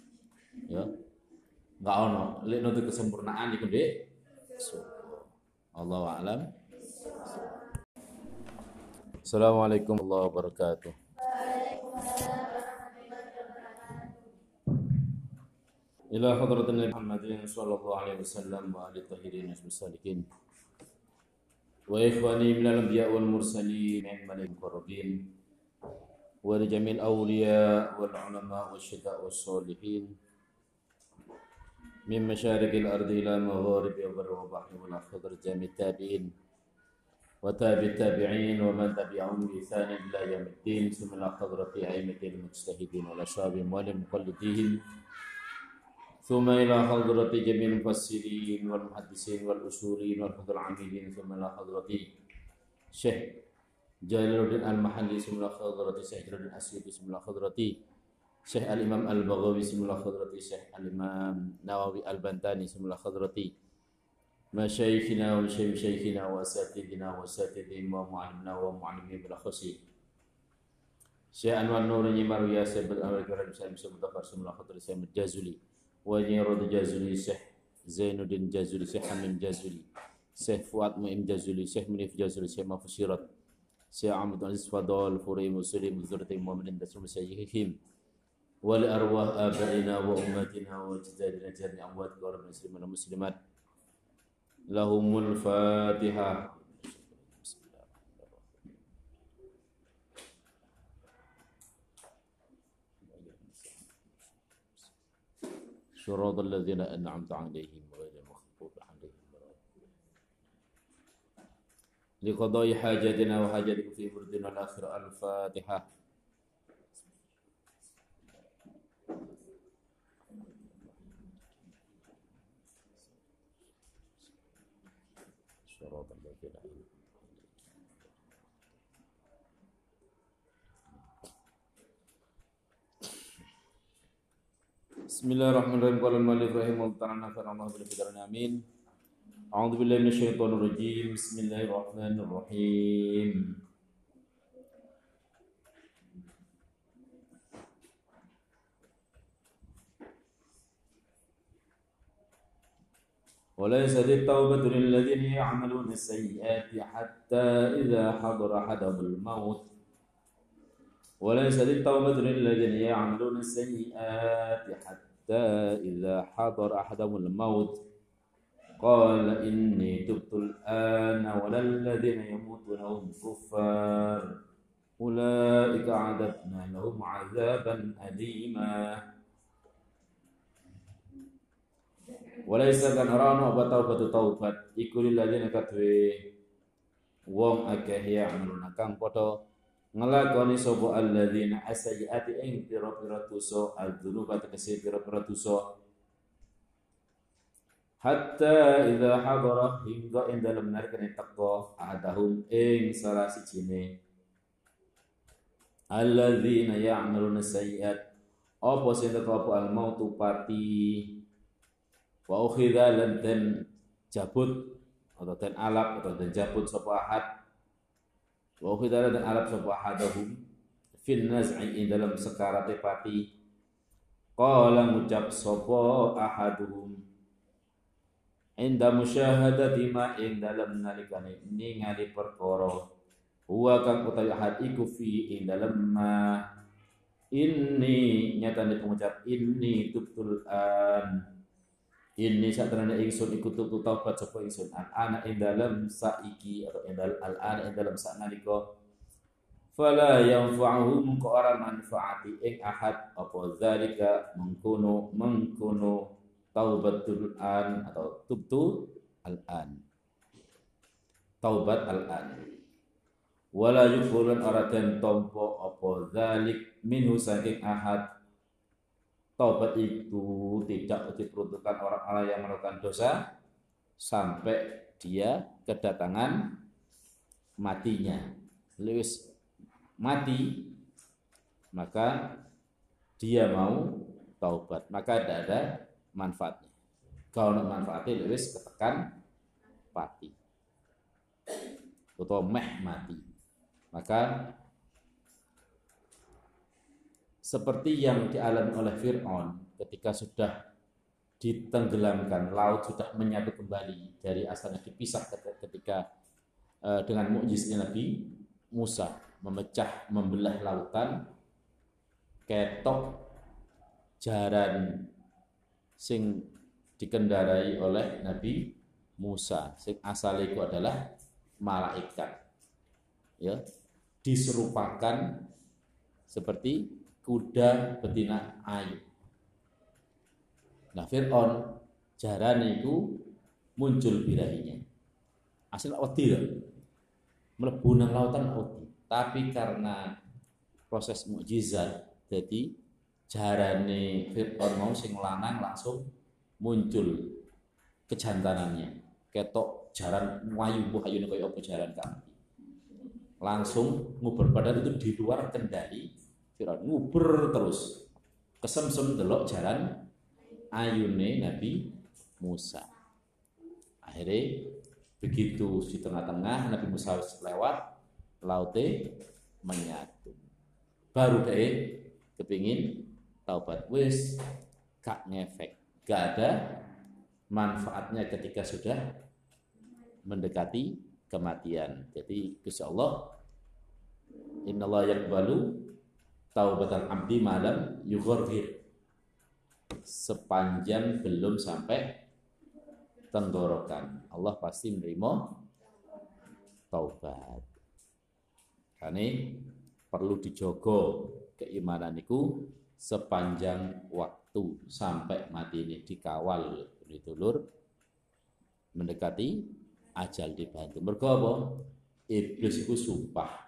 Ya. Enggak ono, lek nuntut kesempurnaan iku ndek surga. Allahu a'lam. Assalamualaikum warahmatullahi wabarakatuh. Ila hadratin Muhammadin sallallahu alaihi wasallam wa alihi tahirin wasalikin. Wa ikhwani minal anbiya wal mursalin wal muqarrabin wa li jamil awliya wal ulama wasyuhada was solihin min masyariqil ardi ila magharibi wa bahri wal khadr jamit tabi'in wa tabi'it tabi'in wa man tabi'ahum bi ihsan ila yaumiddin summa hadrati a'immatil mujtahidin wal ashabim wal muqallidin ثم إلى حضرة جميع المفسرين والمحدثين والأصولين والفقه العاملين ثم إلى حضرة شيخ جلال الدين المحلي ثم إلى حضرة شيخ جلال الدين الأسيوطي ثم إلى حضرة شيخ الإمام البغوي ثم إلى حضرة شيخ الإمام نووي البنتاني ثم إلى حضرة مشايخنا ومشايخنا وأساتذتنا وأساتذتهم ومعلمنا ومعلمين بالأخص شيخ أنوار نور نيمار ياسر بالأمر الكريم سالم سمدفر ثم إلى حضرة سيد الجازلي Wajirud Jazuli, Syekh Zainuddin Jazuli, Syekh Hamim Jazuli, Syekh Fuad Mu'im Jazuli, Syekh Munif Jazuli, Syekh Mafusirat, Syekh Ahmad Aziz Fadol, Furi Muslim, Zurati Mu'minin, Dasrum Sayyihim, Wali arwah abaina wa ummatina wa jadadina jari amwat wa muslimin wa muslimat. Lahumul Fatihah. صراط الذين أنعمت عليهم غير المغضوب عليهم لقضاء حاجاتنا وحاجاتكم في بردنا الآخرة. الفاتحة. صراط الذين Bismillahirrahmanirrahim. Qala al-mu'allif rahimahullah ta'ala nafa'ana bil hidayah amin. A'udzu billahi minasyaitonir rajim. Bismillahirrahmanirrahim. وليست التوبة للذين يعملون السيئات حتى إذا حضر أحدهم الموت وليست التوبة للذين يعملون السيئات حتى إذا حضر أحدهم الموت قال إني تبت الآن ولا الذين يموتون وهم كفار أولئك أعددنا لهم عذابا أليما. Walaysa kan rano batau taubat iku lilladzina katwe wong akeh ya amruna kang padha ngelakoni sapa alladzina as-sayyiati ing pira-pira dosa al-dzunuba tegese pira-pira dosa hatta idza hadara hingga ing dalem nalikane teka adahum ing salah sijine alladzina ya'maluna sayyiat apa sing teka apa al-mautu pati wa ukhidha lan den jabut atau den alap atau den jabut sapa ahad wa ukhidha lan alap sapa ahadahum fil naz'i dalam sekarate pati qala ngucap sapa ahaduhum inda musyahadati ma ing dalam nalikane ningali perkara huwa kang utawi ahad iku fi ing dalem ma inni nyatane pengucap inni tubtul an ini satrana ingsun iku tutu taubat sapa ingsun ana ing dalem saiki atau ing dalem al-ana ing dalem saknalika fala yanfa'uhum ka ora manfaati ing ahad apa zalika mengkono taubatul an atau tubtu al-an taubat al-an wala yufurun ora den tampa apa zalik minhu saking ahad. Taubat itu tidak diperuntukkan orang-orang yang melakukan dosa sampai dia kedatangan matinya. Lewis mati, maka dia mau taubat, maka tidak ada manfaatnya. Kalau nak manfaatnya lewis ketekan pati atau mati, maka seperti yang dialami oleh Fir'aun ketika sudah ditenggelamkan, laut sudah menyatu kembali dari asalnya dipisah ketika dengan mukjizatnya Nabi Musa membelah lautan, ketok jaran sing dikendarai oleh Nabi Musa, sing asale itu adalah malaikat, ya, diserupakan seperti kuda betina ayu. Nah, Fir'aun jarane itu muncul birahinya. Asal wedi lho. Mlebu nang lautan wedi. Tapi karena proses mukjizat, jadi jarane Fir'aun mau sing lanang langsung muncul kejantanannya. Ketok jaran wayu ayune kaya apa jaran kami. Langsung nguber, padahal itu di luar kendali Fir'aun, nguber terus. Kesemsem delok jaran ayune Nabi Musa. Akhirnya begitu di tengah-tengah Nabi Musa lewat, laute menyatu. Baru deh kepingin taubat, wis gak ngefek, gak ada manfaatnya ketika sudah mendekati kematian. Jadi insya Allah, innallaha yaqbalu taubatal abdi malam yughargir, sepanjang belum sampai tenggorokan Allah pasti menerima taubat. Karena perlu dijogo keimanan itu sepanjang waktu sampai mati ini, dikawal ditulur mendekati ajal, dibantu. Mergo apa? Iblis itu sumpah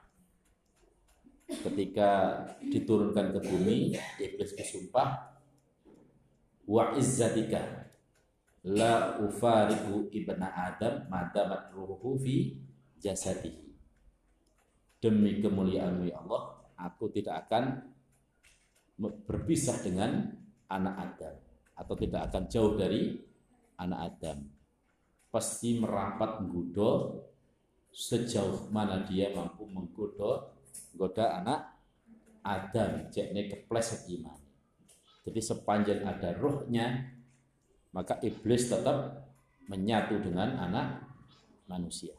ketika diturunkan ke bumi, iblis bersumpah, wa izzatika la ufariqu ibna adam madamat ruhuhu fi jasadihi. Demi kemuliaan-Mu ya Allah, aku tidak akan berpisah dengan anak Adam, atau tidak akan jauh dari anak Adam. Pasti merapat menggoda sejauh mana dia mampu menggoda anak Adam, cekne kepleset iman. Jadi sepanjang ada rohnya, maka iblis tetap menyatu dengan anak manusia.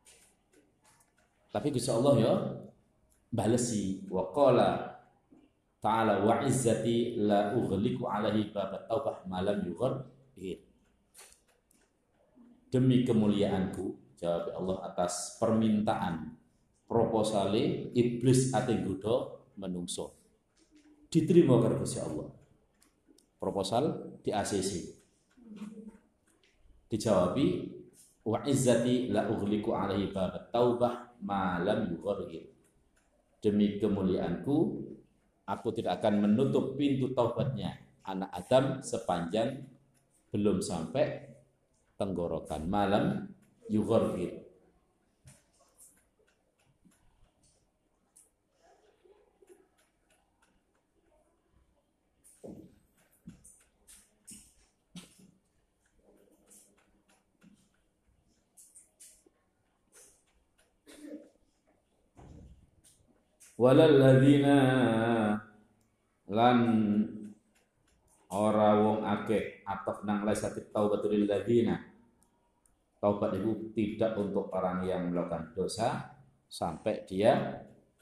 Tapi Gusti Allah ya balesi, wa qala ta'ala wa izzati la ughliqu alaihi babat taubah malam yughargir. Demi kemuliaanku, jawab Allah atas permintaan proposale iblis ate nggodha menungso. Diterima karo Gusti Allah. Proposal di ACC. Dijawabi wa izzati la ughliqu alaihi babat taubah malam yughargir. Demi kemuliaanku, aku tidak akan menutup pintu taubatnya anak Adam sepanjang belum sampai tenggorokan, malam yughargir. Walal ladzina lan ora wong akeh atau nang laisati taubatul lil ladzina. Taubat itu tidak untuk orang yang melakukan dosa sampai dia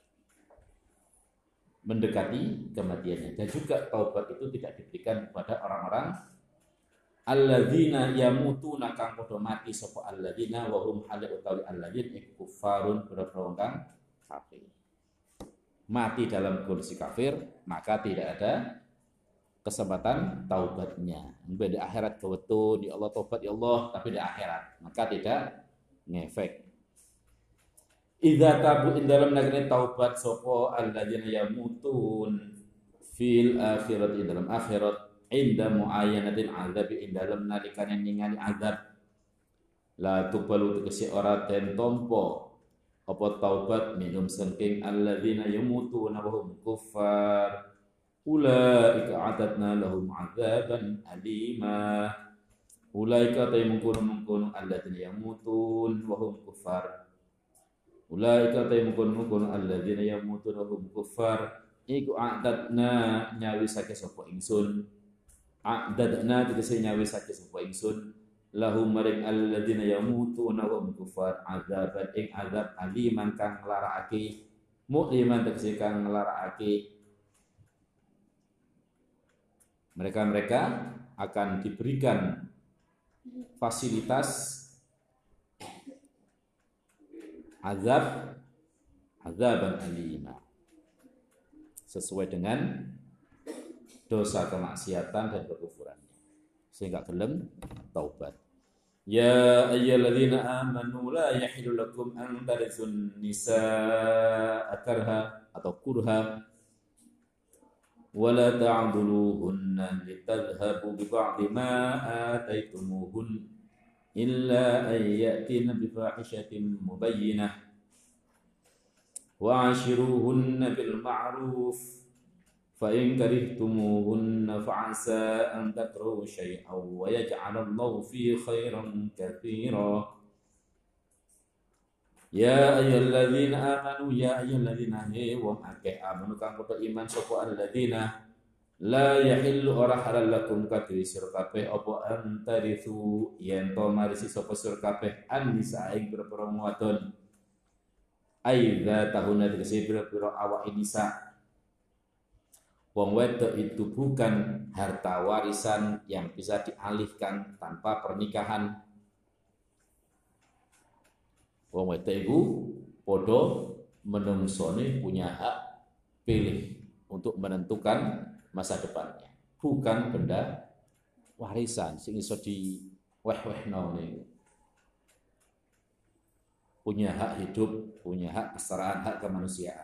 mendekati kematiannya. Dan juga taubat itu tidak diberikan kepada orang-orang alladzina yamutuna kang padha mati sapa alladzina wa hum hal utawi alladzina kuffarun berperang kafir. Mati dalam kondisi kafir, maka tidak ada kesempatan taubatnya. Di akhirat kewetun, ya Allah taubat ya Allah, tapi di akhirat maka tidak ngefek. Idza tabu dalam negeri taubat sapa alladzina yamutun fil akhirati dalam akhirat inda muayyanatil azab dalam nalikane ningali azab la tuqbalu tegese ora den tampa apa taubat minum sangking alladzina yamutuna wa hum kuffar ulaika a'tadna lahum 'adzaban alima. Ulaika taymukun alladzina yamutun wa hum kuffar. Ulaika taymukun alladzina yamutun wa hum kuffar. Iku a'tadna nyawisake sapa ingsun a'dadna tegese nyawisake sapa ingsun lahum maring alladzina yamutuna wa hum kufar adzaban ing azab aliman kang nglarakake mu'liman tegese kang nglarakake mereka akan diberikan fasilitas azaban alima sesuai dengan dosa kemaksiatan dan kekufurannya sehingga gelem taubat. Ya ayyuhalladzina amanu la yahillu lakum an taritsun nisaa karha atau kurha wa la ta'dhuluhunna litadhhabu bi ba'di ma ataitumuhun illa an ya'tina bi fahishatin mubayyinah wa 'ashiruhunna bil ma'ruf فَإِنْ كَرِهْتُمُوهُنَّ فَعَسَىٰ أَنْ تَكْرَهُوا شَيْئًا وَيَجْعَلَ اللَّهُ فِيهِ خَيْرًا كَثِيرًا Ya ayyuhalladzina amanu ya ayyuhalladzina wong akeh amanu kang padha iman sapa alladzina la yahillu ora halal lakum kadhi sira kabeh apa antarithu yen to marisi sapa sira kabeh an-nisa ing pira-pira wadon aidza tahuna tegese pira-pira awak nisa. Wong wedok itu bukan harta warisan yang bisa dialihkan tanpa pernikahan. Wong wedok itu podo menungsone punya hak pilih untuk menentukan masa depannya. Bukan benda warisan sing iso di weh-wehno niku. Punya hak hidup, punya hak kesetaraan, hak kemanusiaan.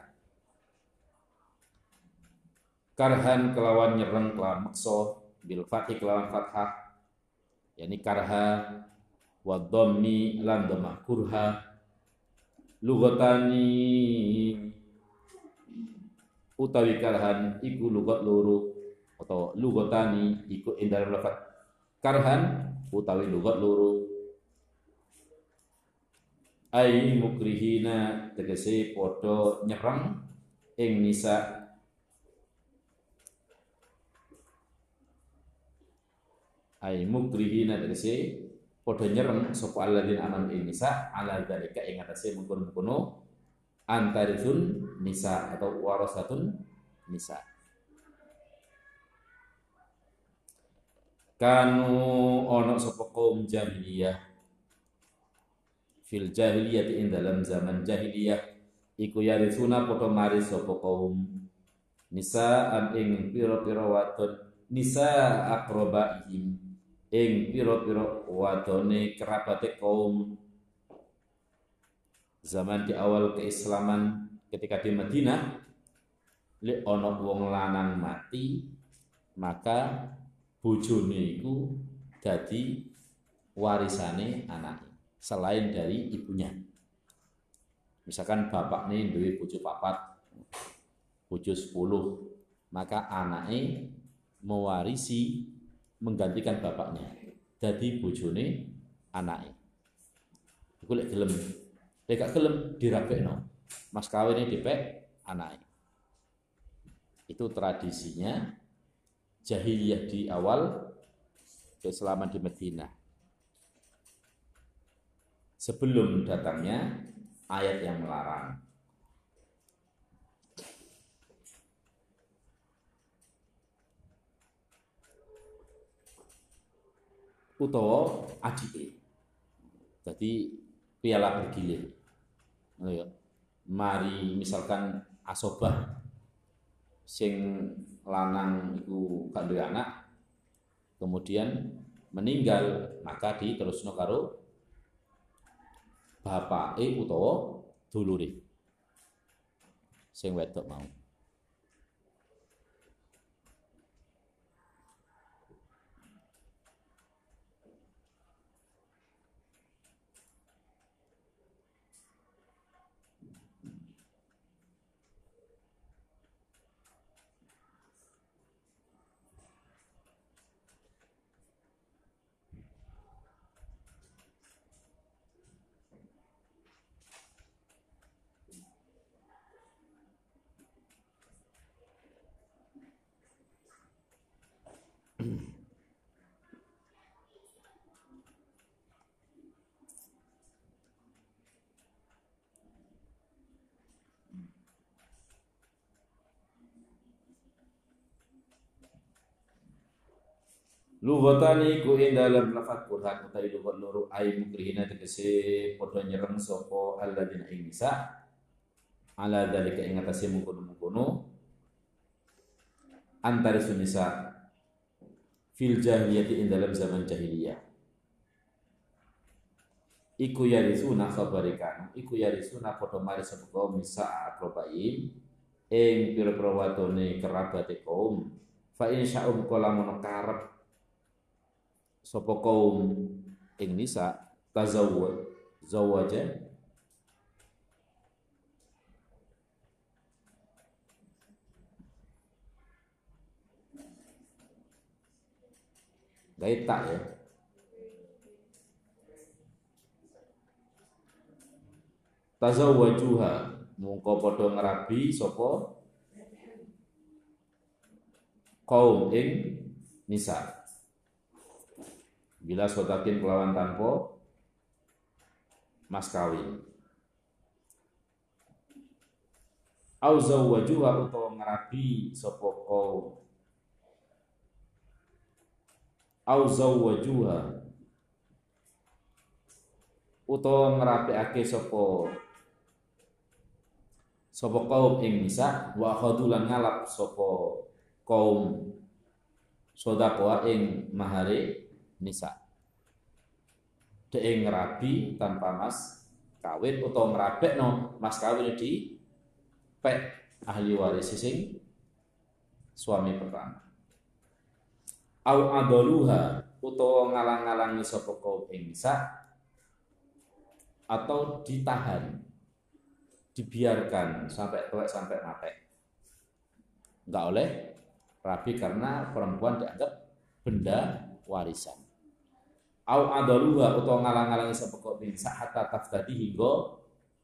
Karhan kelawan nyereng kelawan makso bil fathi kelawan fathah yakni karha wa dhammi lan dhammah kurha lugatani utawi karhan iku lugat loro atau lugatani iku ing dalam lafaz karhan utawi lugat loro ai mukrihina tegese padha nyereng ing nisa ay mukrihina tegese padha nyereng sapa alladzina amanu ing nisa ala dzalika ing atase mungkon-mungkono antarithun nisa atau warasatun nisa kanu ono sapa kaum jahiliyah fil jahiliyah ing dalam zaman jahiliyah iku yarithuna padha maris sapa kaum nisa an ing pira-pira wadon nisa aqrabaihim ing pira-pira wadone kerabate kaum zaman di awal keislaman ketika di Madinah lek ana wong lanang mati maka bojone iku dadi warisane anake selain dari ibunya. Misalkan bapakne duwe bojo 4 bojo 10 maka anake mewarisi menggantikan bapaknya dadi bojone anake. Iku lek gelem. Lek gak gelem dirabekno. Mas kawine dipek anake. Itu tradisinya jahiliyah di awal keislaman di Madinah. Sebelum datangnya ayat yang melarang. Utawa adike. Jadi piala bergilir. Mari misalkan asobah sing lanang iku gak duwe anak kemudian meninggal maka diterusno karo bapake utawa dulure sing wedok mau. Lugatani ku ing dalam lafaz kurhat utawi lugat loro ai mukrihina tegese padha nyereng sapa alladzina ing nisa ala dzalika ing atase mungkono-mungkono antara sunisa fil jahiliyati ing dalam zaman jahiliyah iku yarisuna khabarikan iku yarisuna padha mari sapa kaum nisa akrobain ing pira-pira wadone kerabate kaum fa insya'um kala mono karep sapa kaum ing nisa zawaja gaita ya tazawwajuha mungko padha ngrabi sapa kaum ing nisa bila sodakin kelawan tanpa mas kawin au zawwajuha utawa ngrabi sapa kaum au zawwajuha utawa ngrapiake sapa kaum ing nisa wa khadulan ngalap sapa kaum sedekah ing mahare nisa dhek ngrabi tanpa mas kawin utawa ngrabekno mas kawin di pek ahli waris sing suami pertama au adaluha utawa ngalang-alangi sapa kaum ing nisa atau ditahan dibiarkan sampai tuwek sampai mati enggak oleh rabi karena perempuan dianggap benda warisan au adaluha utawa ngalang-alangi sapa kaum ing nisa hatta taftadi hingga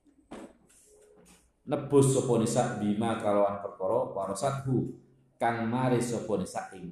nebus sapa nisa bima kalawan perkara warasathu kang mari sapa nisa ing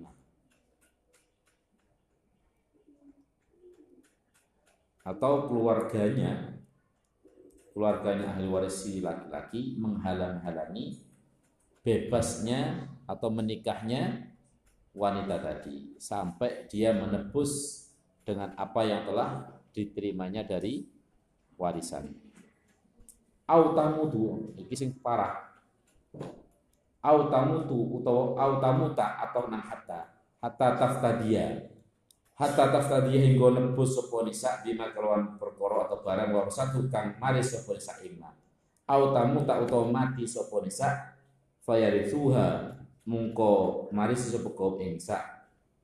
atau keluarganya ahli waris si laki-laki menghalang-halangi bebasnya atau menikahnya wanita tadi sampai dia menebus dengan apa yang telah diterimanya dari warisan. Au tamutu iki sing parah. Au tamutu utawa au tamuta atau nang hatta taftadiya. Hatta taftadiya hingga nebus sapa nisa bima kelawan perkara atau barang warasatu kang mari sapa nisa imma. Au tamuta utawa mati sapa nisa fayarithuha mungko mari sapa kaum nisa.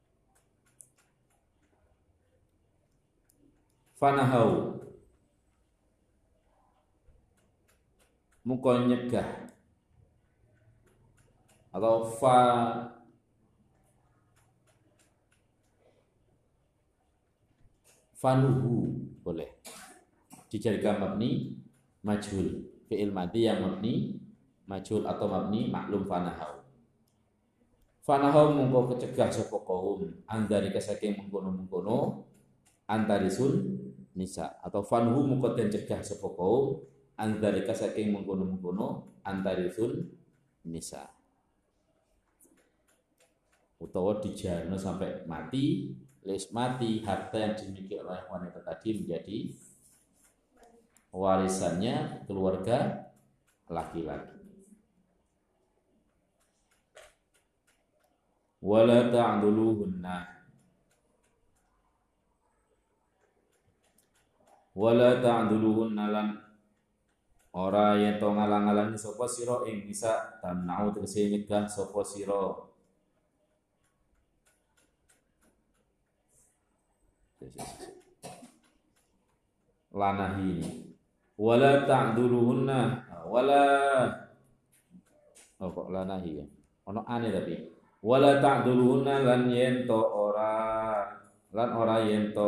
Fanahau mungko nyegah atau fanuhu boleh dijadikan mabni majhul fi'il madhi yang mabni majhul atau mabni maklum fanahau mungko kecegah sapa kaum andari saking mengkono-mengkono antarisun nisa atau fanhu mungko den cegah sapa kaum andari saking mengkono-mengkono antarisun nisa utawa dijarno sampai mati harta yang dimiliki oleh wanita tadi menjadi warisannya keluarga laki-laki. Wala ta'duluhunna lan ora yen to ngalang-alangi sapa sira ing nisa tamna'u tegese nyegah sapa sira lanahi wala ta'duluhunna wala kok lanahi ya ono ane tapi wala ta'duluhunna lan yen to ora yen to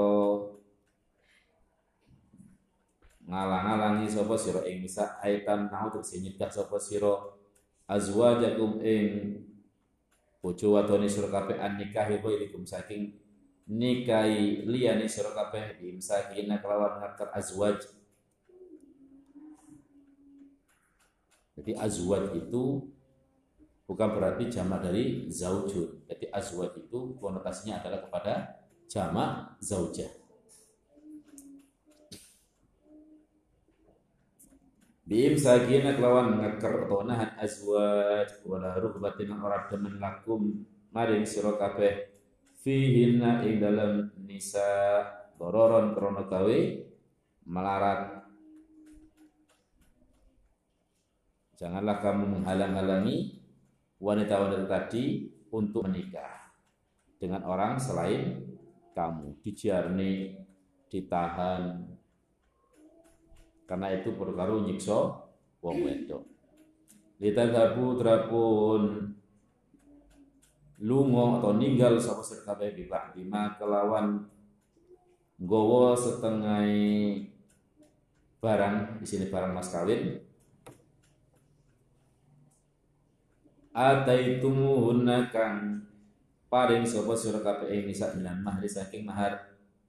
ngalang-alangi sapa sira ing nisa aitan nau tegese nyegah sapa sira azwajakum ing bojo wadone sira kabeh an nikahi ghairikum saking nikahi liyane sira kabeh imsakina kelawan ngatur azwaj. Jadi azwaj itu bukan berarti jamak dari zaujun. Jadi azwaj itu konotasinya adalah kepada jamak zaujah. Biim sagina kelawan ngakar atau nahan azwaj wala ruhbatin ora demen lakum maring sira kabeh fihinna ing dalam nisa dororon krana gawe melarat. Janganlah kamu menghalang-halangi wanita-wanita tadi untuk menikah dengan orang selain kamu, dijarni, ditahan, karena itu perkara nyiksa wong wedok. Litadhabu drapun lunga atau ninggal sapa sira kabeh bibak bima kelawan nggawa setengah barang, di sini barang mas kawin. Ataitumuhunna kang paring sapa sira kabeh ing nisa minan mahri saking mahar.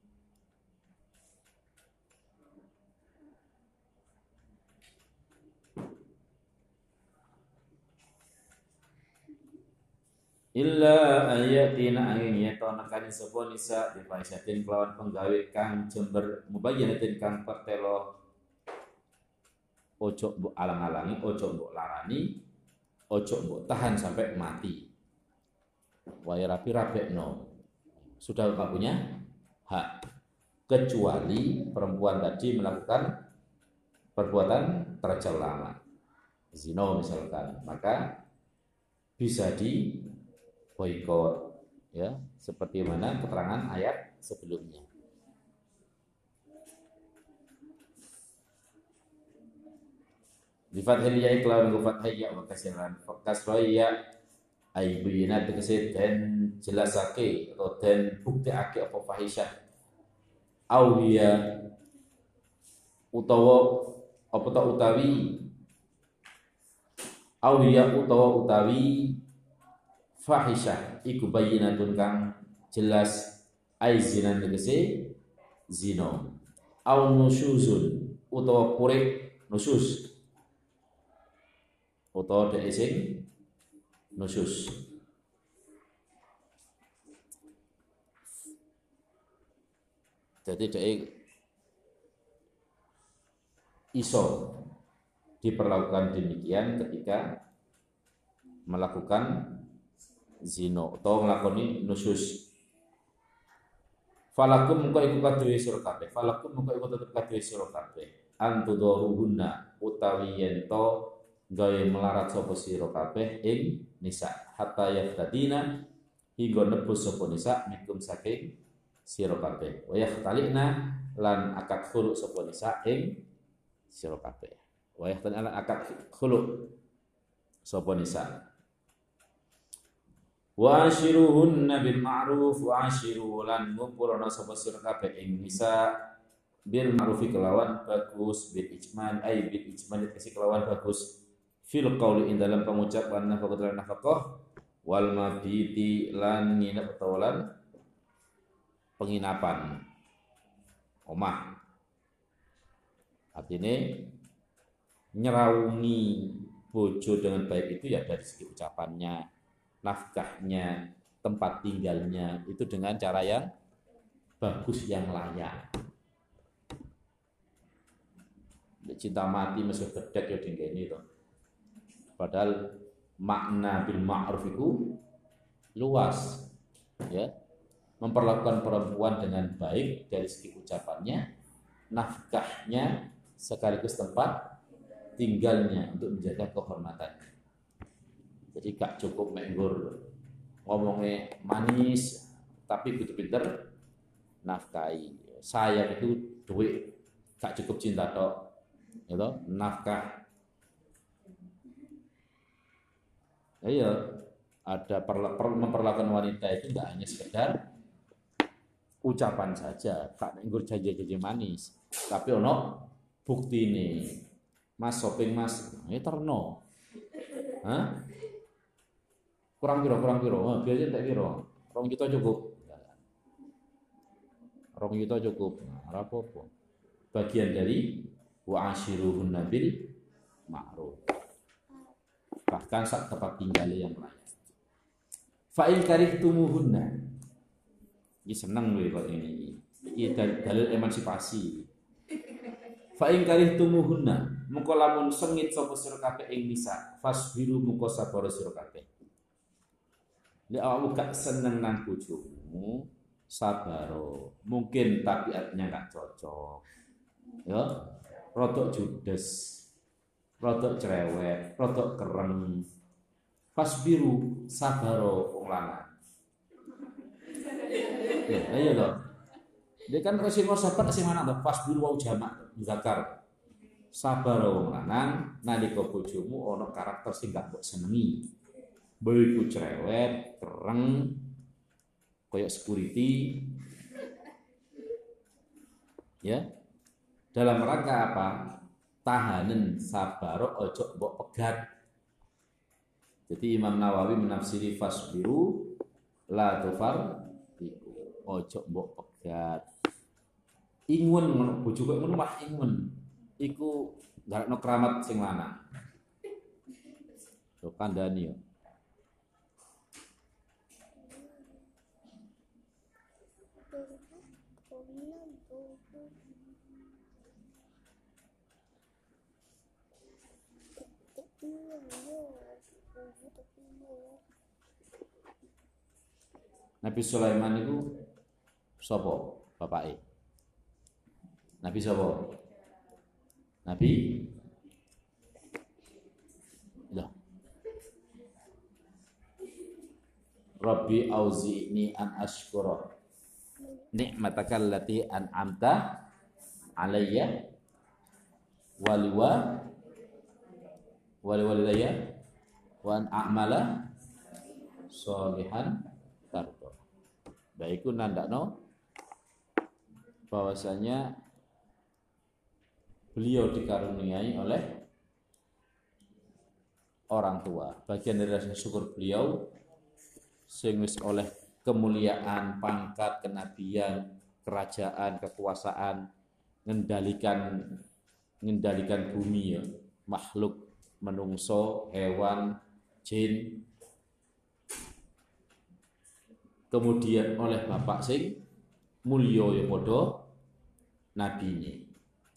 Illa ayatina angin yatona kani sapa nisa bi faisatin kelawan penggawe kang jember mubayyanatin kang pertelo ojo mbok alang-alangi, ojo mbok larani, ojo mbok tahan sampai mati. Wae rapi-rapekno. Sudah Bapak punya hak, kecuali perempuan tadi melakukan perbuatan tercela, zina misalkan, maka bisa di boikot, ya, seperti mana keterangan ayat sebelumnya. Di fathil ya iklawan gufat hayya wa kasiran kasroya aibuyina tegese den jelasake atau den buktiake apa fahisyah awiya utawa apa ta utawi awiya utawa utawi fahisyah iku bayyinatun kang jelas aizinan tegese zina au nusyuzun utawa purik nusyuz utawa dhek sing nusyuz. Jadi dhek iso diperlakukan demikian ketika melakukan zina atau nglakoni nusyuz. Falakum mengko iku kaduwe sira kabeh. Falakum mengko iku tetep kaduwe sira kabeh. Antudaruhunna utawi yen to gawe melarat sapa sira kabeh ing nisa hatta yaftadina hingga nebus sapa nisa mikum saking sira kabeh. Wa yakhtalina lan akad khulu sapa nisa ing sira kabeh. Wa yakhtalina lan akad khulu sapa nisa. Wa ashiruhunna bil ma'ruf wa ashiru lan ngumpulana sapa sira kabeh ing nisa bil ma'ruf kelawan bagus bil ijmal ay bil ijmal kasih kelawan bagus fil qauli ing dalam pengucapan nafkah wal mabiti lan nginep utawalan penginapan omah. Artinya nyeraungi bojo dengan baik itu ya dari segi ucapannya, nafkahnya, tempat tinggalnya itu dengan cara yang bagus, yang layak. Cinta mati masih gedek ya dingene to. Padahal makna bil ma'ruf itu luas, ya, memperlakukan perempuan dengan baik dari segi ucapannya, nafkahnya, sekaligus tempat tinggalnya untuk menjaga kehormatannya. Jadi gak cukup menggur ngomongnya manis, tapi pinter-pinter nafkahi. Sayang itu duit, gak cukup cinta tok, gitu, nafkah. Iya, ada memperlakukan wanita itu tidak hanya sekedar ucapan saja, tak nggur janji-janji manis, tapi ono bukti ini. Mas shopping mas, ini terno, hah? Kurang piro, biasanya tak piro, 2 juta cukup, 2 juta cukup, apa-apa. Bagian dari wa ashiruhunna bil ma'ruf. bahkan sak tempat tinggal yang layak. Fa in karihtumuhunna. Iki seneng lho kok ini. Iki dalil emansipasi. Fa in karihtumuhunna, mengko lamun sengit sapa sira kabeh ing nisa, fasbiru mengko sabar sira kabeh. Nek awakmu gak seneng nang bojomu, sabaro. Mungkin tabiatnya gak cocok. Ya, rodok judes, rodok cerewet, rodok kereng. Fasbiru sabaro wong lanang. Ya, ayo lho. Dia kan sing sabar sing mana to? Fasbiru wa jamak zakar. Sabaro wong lanang nalika bojomu ana karakter sing gak mbok senengi. Mbok cerewet, kereng, koyok security. Ya. Dalam rangka apa? Tahanan sabaro ojo mbok pegat. Jadi Imam Nawawi menafsiri fasbiru la tufar ojo mbok pegat. Ingun ngono bojo kok ngono mah ingun. Iku garakno keramat sing lanang. Yo kandhani yo. Nabi Sulaiman itu sapa bapake? Nabi sapa? Nabi lah. Rabbi auzi'ni an ashkura ni'mataka allati an'amta alayya waliwalidayya wa an a'mala sholihan tardo. Baiku nandakno bahwasanya beliau dikaruniai oleh orang tua. Bagian dari rasa syukur beliau sing wis oleh kemuliaan, pangkat, kenabian, kerajaan, kekuasaan, ngendalikan bumi ya, makhluk menungso, hewan, jin. Kemudian oleh bapak sing mulya ya padha nabine.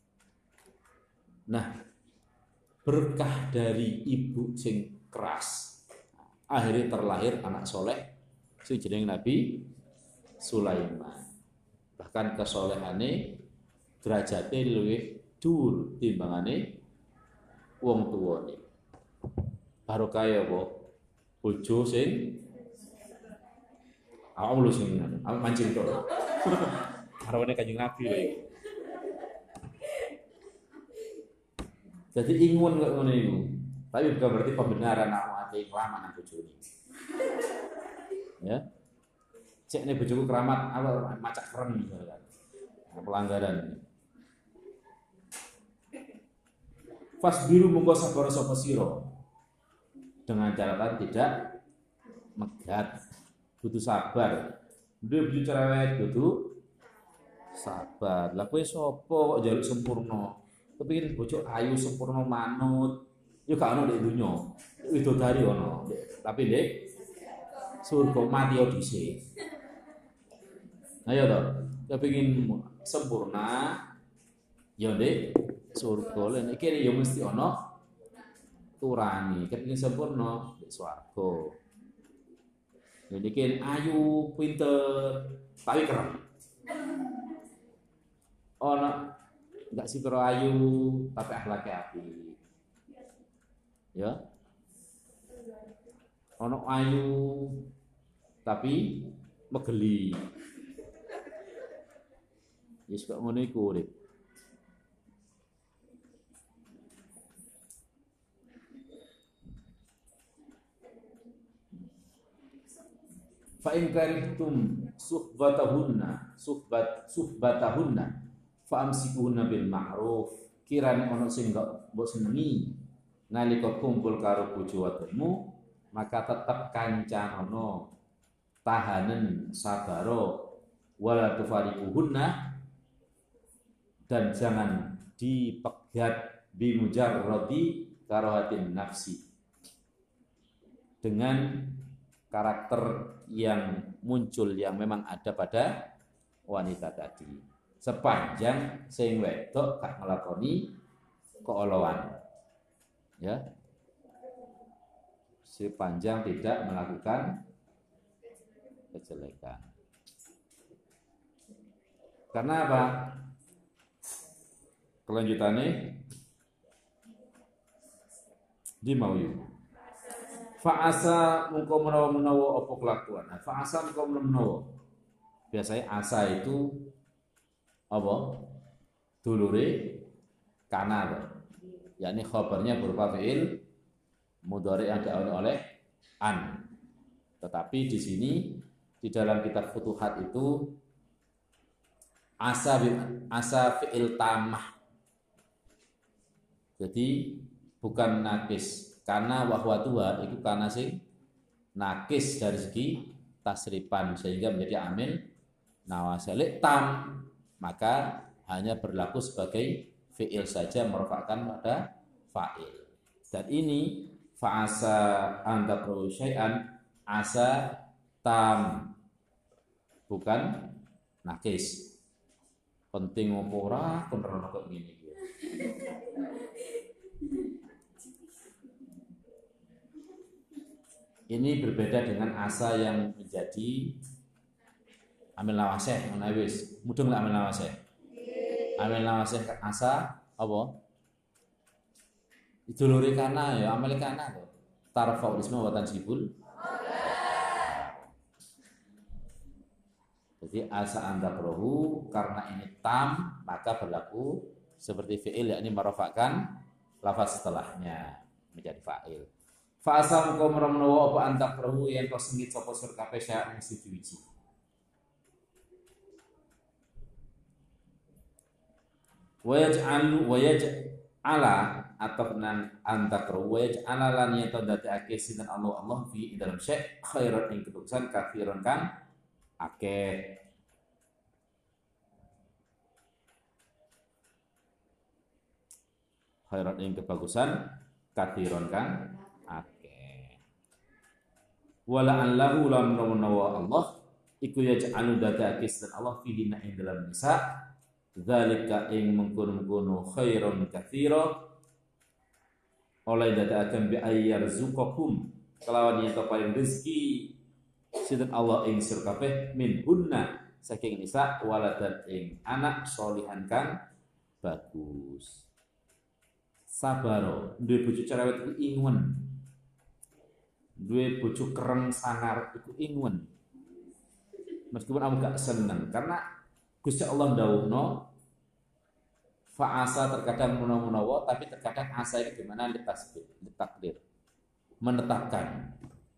Nah, berkah dari ibu sing keras, akhirnya terlahir anak soleh sing jeneng Nabi Sulaiman. Bahkan kesolehane derajate luwih dhuwur timbangane wong tuwane. Barokah ya apa? Bojo sing awak sing mancing to. Karone Kanjeng Nabi lho iki. Jadi ingun kok ngono iku. Tapi bukan berarti pembenaran awak ate keramat nang bojone. Ya. Cek nek bojoku keramat awak macak keren misalkan. Pelanggaran. Fasbiru monggo sabar sapa sira. Dengan catatan tidak megat, butuh sabar. Dia bojo cerewet butuh sabar. Lah kowe sapa kok njaluk sempurna? Kepingin bojo ayu sempurna manut, yo gak ono nek donya. Widodari ono, tapi nek surga mati yo dhisik. Ayo to, kepingin sempurna yo nek surga. Nek kene yo mesti ono turani. Kepingin sempurna nek swarga. Jadi kan ayu, pinter, tapi keren. Ono enggak sih karo ayu tapi akhlaknya apik. Ya. Ono ayu tapi megeli. Wis kok ngono iku urip. Fa in karihtum suhbatahunna fa amsikuhunna bil ma'ruf. Kirane ono sing gak mbok senengi nalika kumpul karo bojo wadonmu, maka tetep kancanono, tahanen sabaro, wala tufariquhunna, dan jangan dipegat bimujarradi karahatin nafsi, dengan karakter yang muncul yang memang ada pada wanita tadi. Sepanjang sing wedok gak nglakoni keolowan. Ya. Sepanjang tidak melakukan kejelekan. Karena apa? Kelanjutannya di mauyu. Fa'asa mungko menawa apa kelakuan. Fa'asa mungko menawa. Biasanya asa itu apa? Dulure kana, yakni khabarnya berupa fi'il mudhari yang diawali oleh an. Tetapi di sini di dalam kitab Futuhat itu asa fi'il tamah. Jadi bukan nakis, karena wahwa tua itu karena sing nakis dari segi tasripan sehingga menjadi amil nawasalik tam, maka hanya berlaku sebagai fi'il saja merofakkan pada fa'il. Dan ini fa'asa antakru syai'an asa tam, bukan nakis. Penting apa ora kontrol kok ngene iki. Ini berbeda dengan asa yang menjadi amil nawasih, wis mudeng amil nawasih. Amil nawasih asa apa? Idulure kana ya amil kana to. Tarfa isma wa tansibul. Jadi asa anda prohu karena ini tam maka berlaku seperti fi'il yakni merofakkan lafaz setelahnya menjadi fa'il. Fa'asam kau menawa apa anda prohu yang kau sengit sapa sur kabeh sya ing siji. Wayaj'ala atau nan anta prohu wayaj'ala lan yata dadake sinten Allah fi dalam syai' khairan ing kedusan kafiron kan akeh. Khairat ing kebagusan kathiron kan akeh. Wala allahu lam nawa Allah iku yaj'alu dadake dan Allah fihi ing dalam nisa zalika ing mengkono-mengkono khairon kathira oleh dadake bi ayyarzuqakum kelawan yen paring rezeki sinten Allah ing sir kabeh min hunna saking nisa waladan ing anak solihan kang bagus. Sabaro duwe bojo cerewet iku ingwen, duwe bojo kereng sangar iku ingwen. Meskipun aku gak seneng karena Gusti Allah ndawuhno fa'asa terkadang menawa tapi terkadang asa itu gimana ditakdir menetapkan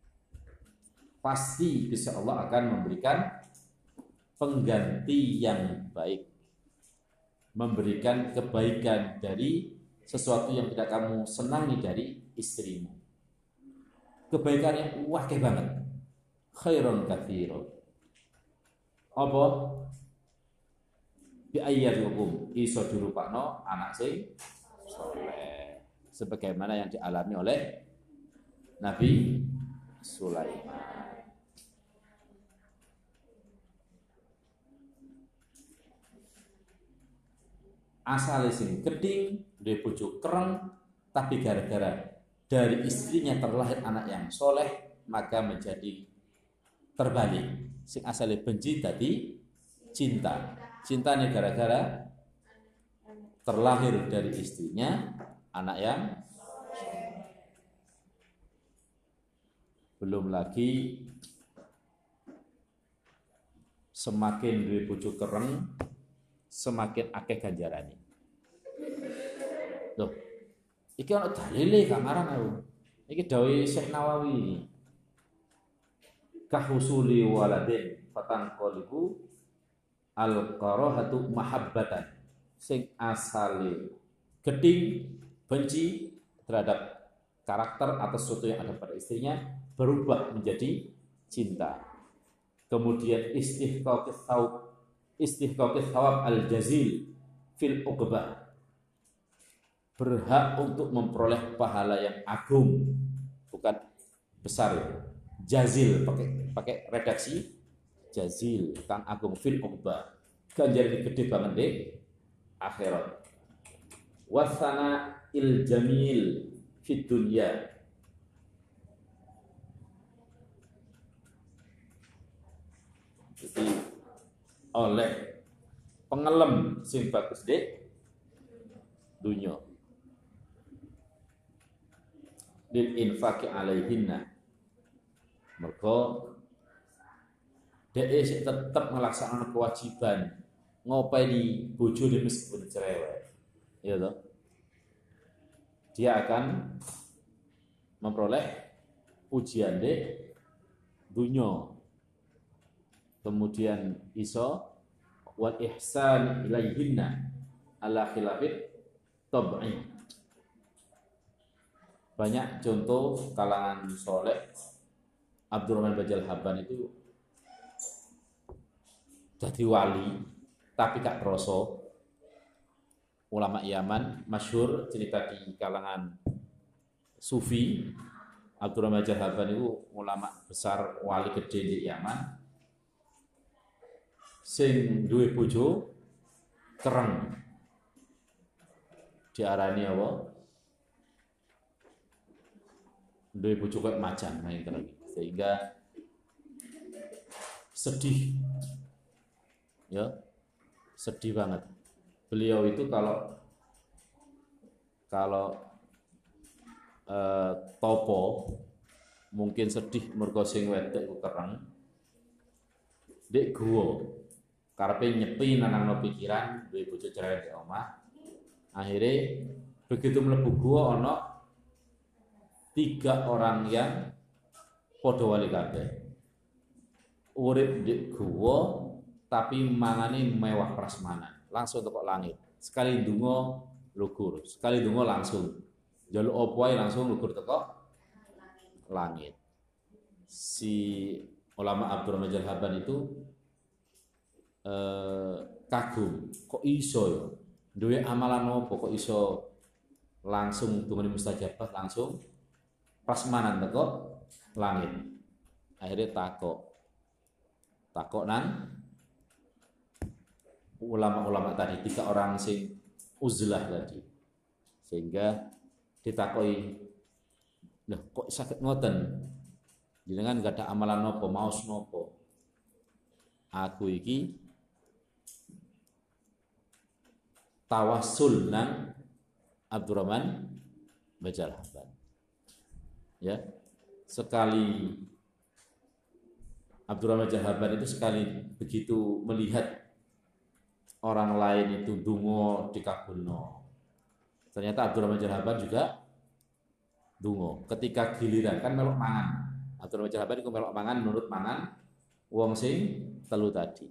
pasti Gusti Allah akan memberikan pengganti yang baik, memberikan kebaikan dari sesuatu yang tidak kamu senangi dari istrimu. Kebaikan yang wakil banget. Khairun kathiro. Apa? Bi ayyadikum iso dirupakno anak sing soleh. Sebagaimana yang dialami oleh Nabi Sulaiman. Asale sing geding, duwe bojo kereng, tapi gara-gara dari istrinya terlahir anak yang soleh, maka menjadi terbalik. Sing asale benci tadi cinta. Cintanya gara-gara terlahir dari istrinya anak yang belum lagi semakin duwe bojo kereng, semakin akeh ganjarane. Loh, iki ana dalile gak ngarang aku. Iki dawuh Syekh Nawawi. Kahusuli waladin fatan qalibu al-qarahatu mahabbatan. Sing asale geding benci terhadap karakter atau sesuatu yang ada pada istrinya berubah menjadi cinta. Kemudian istihqaqis thawab al-jazil fil uqbah, berhak untuk memperoleh pahala yang agung, bukan besar itu. Jazil pakai redaksi jazil, kang agung fil uqba. Ganjaran gede banget deh akhirat. Wasana il jamil fid dunya. Jadi oleh pengelem sing bagus deh dunya lil infaqi alaihinna, mergo dhek tetep melaksanakan kewajiban ngopeni bojone meskipun cerewet, ya toh. Dia akan memperoleh ujian deh dunya, kemudian iso wal ihsan ilaihinna ala khilafit tab'i. Banyak contoh kalangan soleh. Abdurrahman Bajal Habban itu jadi wali tapi gak kroso. Ulama Yaman masyhur cerita di kalangan sufi. Abdurrahman Bajal Habban itu ulama besar, wali gede di Yaman, sing duwe bojo kereng, diarani apa? Duwe bojo kayak macan, main kereng, sehingga sedih, ya, sedih banget. Beliau itu kalau topo mungkin sedih mergo sing wedok ku kereng, dek guwa karepe nyepi nanangno pikiran duwe bojo cerewet di omah. Akhirnya begitu mlebu guwa ana 3 orang yang padha wali kabeh. Urip di guwa tapi mangane mewah prasmanan, langsung teko langit. Sekali ndonga lugur, sekali ndonga langsung njaluk apa wae langsung lugur teko langit. Si ulama Abdurrahman Bajal Habban itu kagum, kok iso ya duwe amalan apa kok iso langsung dungane mustajabah, langsung prasmanan teko langit. Akhirnya takok nang ulama-ulama tadi, 3 orang sing uzlah tadi, sehingga ditakoki, "Loh, kok sakit ngoten? Jenengan gak ada amalan nopo, maos nopo?" "Aku iki tawassul nang Abdurrahman Bajal Habban." Ya, sekali Abdurrahman Bajal Habban itu sekali begitu melihat orang lain itu dungo dikabulno, ternyata Abdurrahman Bajal Habban juga dungo. Ketika giliran kan melok mangan, Abdurrahman Bajal Habban itu melok mangan menurut mangan wong sing telu tadi.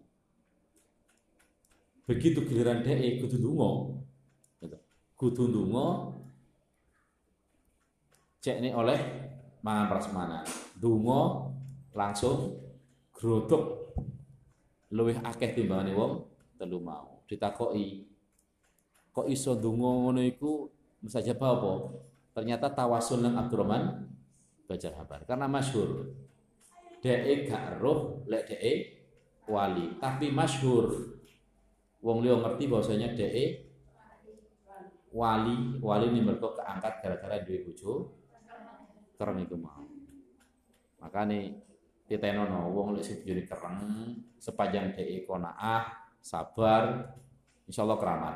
Begitu giliran dhek kudu dungo, kudu dungo, cek ini oleh mangan prasmanan, dungo langsung grodok luwih akeh timbangane wong telu mau. Ditakoki, kok iso dungo ngono iku mustajabah apa? Ternyata tawasul nang Abdurrahman Bajal Habban, karena masyhur dhek gak roh lek dhek wali, tapi masyhur wong liya ngerti bahwasanya dhek wali ini mergo keangkat gara-gara duwe bojo kereng iku mau. Makane ditenono wong lek sing bojone kereng sepanjang dhek qanaah, sabar, insyaallah keramat.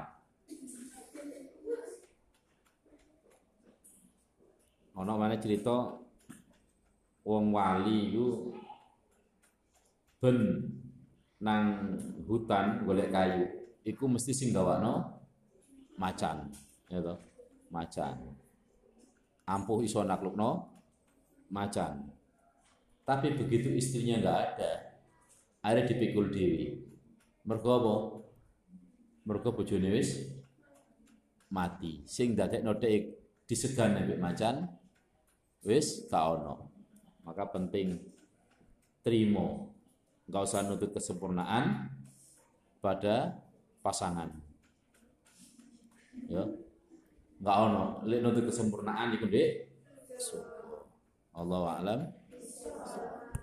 Ana maneh cerita wong wali iku ben nang hutan golek kayu, iku mesti sing gawakno macan, ya toh, macan. Ampuh iso naklukno macan. Tapi begitu istrinya enggak ada, akhirnya dipikul dewi. Mergo apa? Mergo bojone wis mati. Sing dadekno dhek disegan ambek macan wis gak ono. Maka penting trimo, enggak usah nuntut kesempurnaan pada pasangan. Ya. Enggak ono, lek nuntut kesempurnaan iku ndek surga. Allahu a'lam.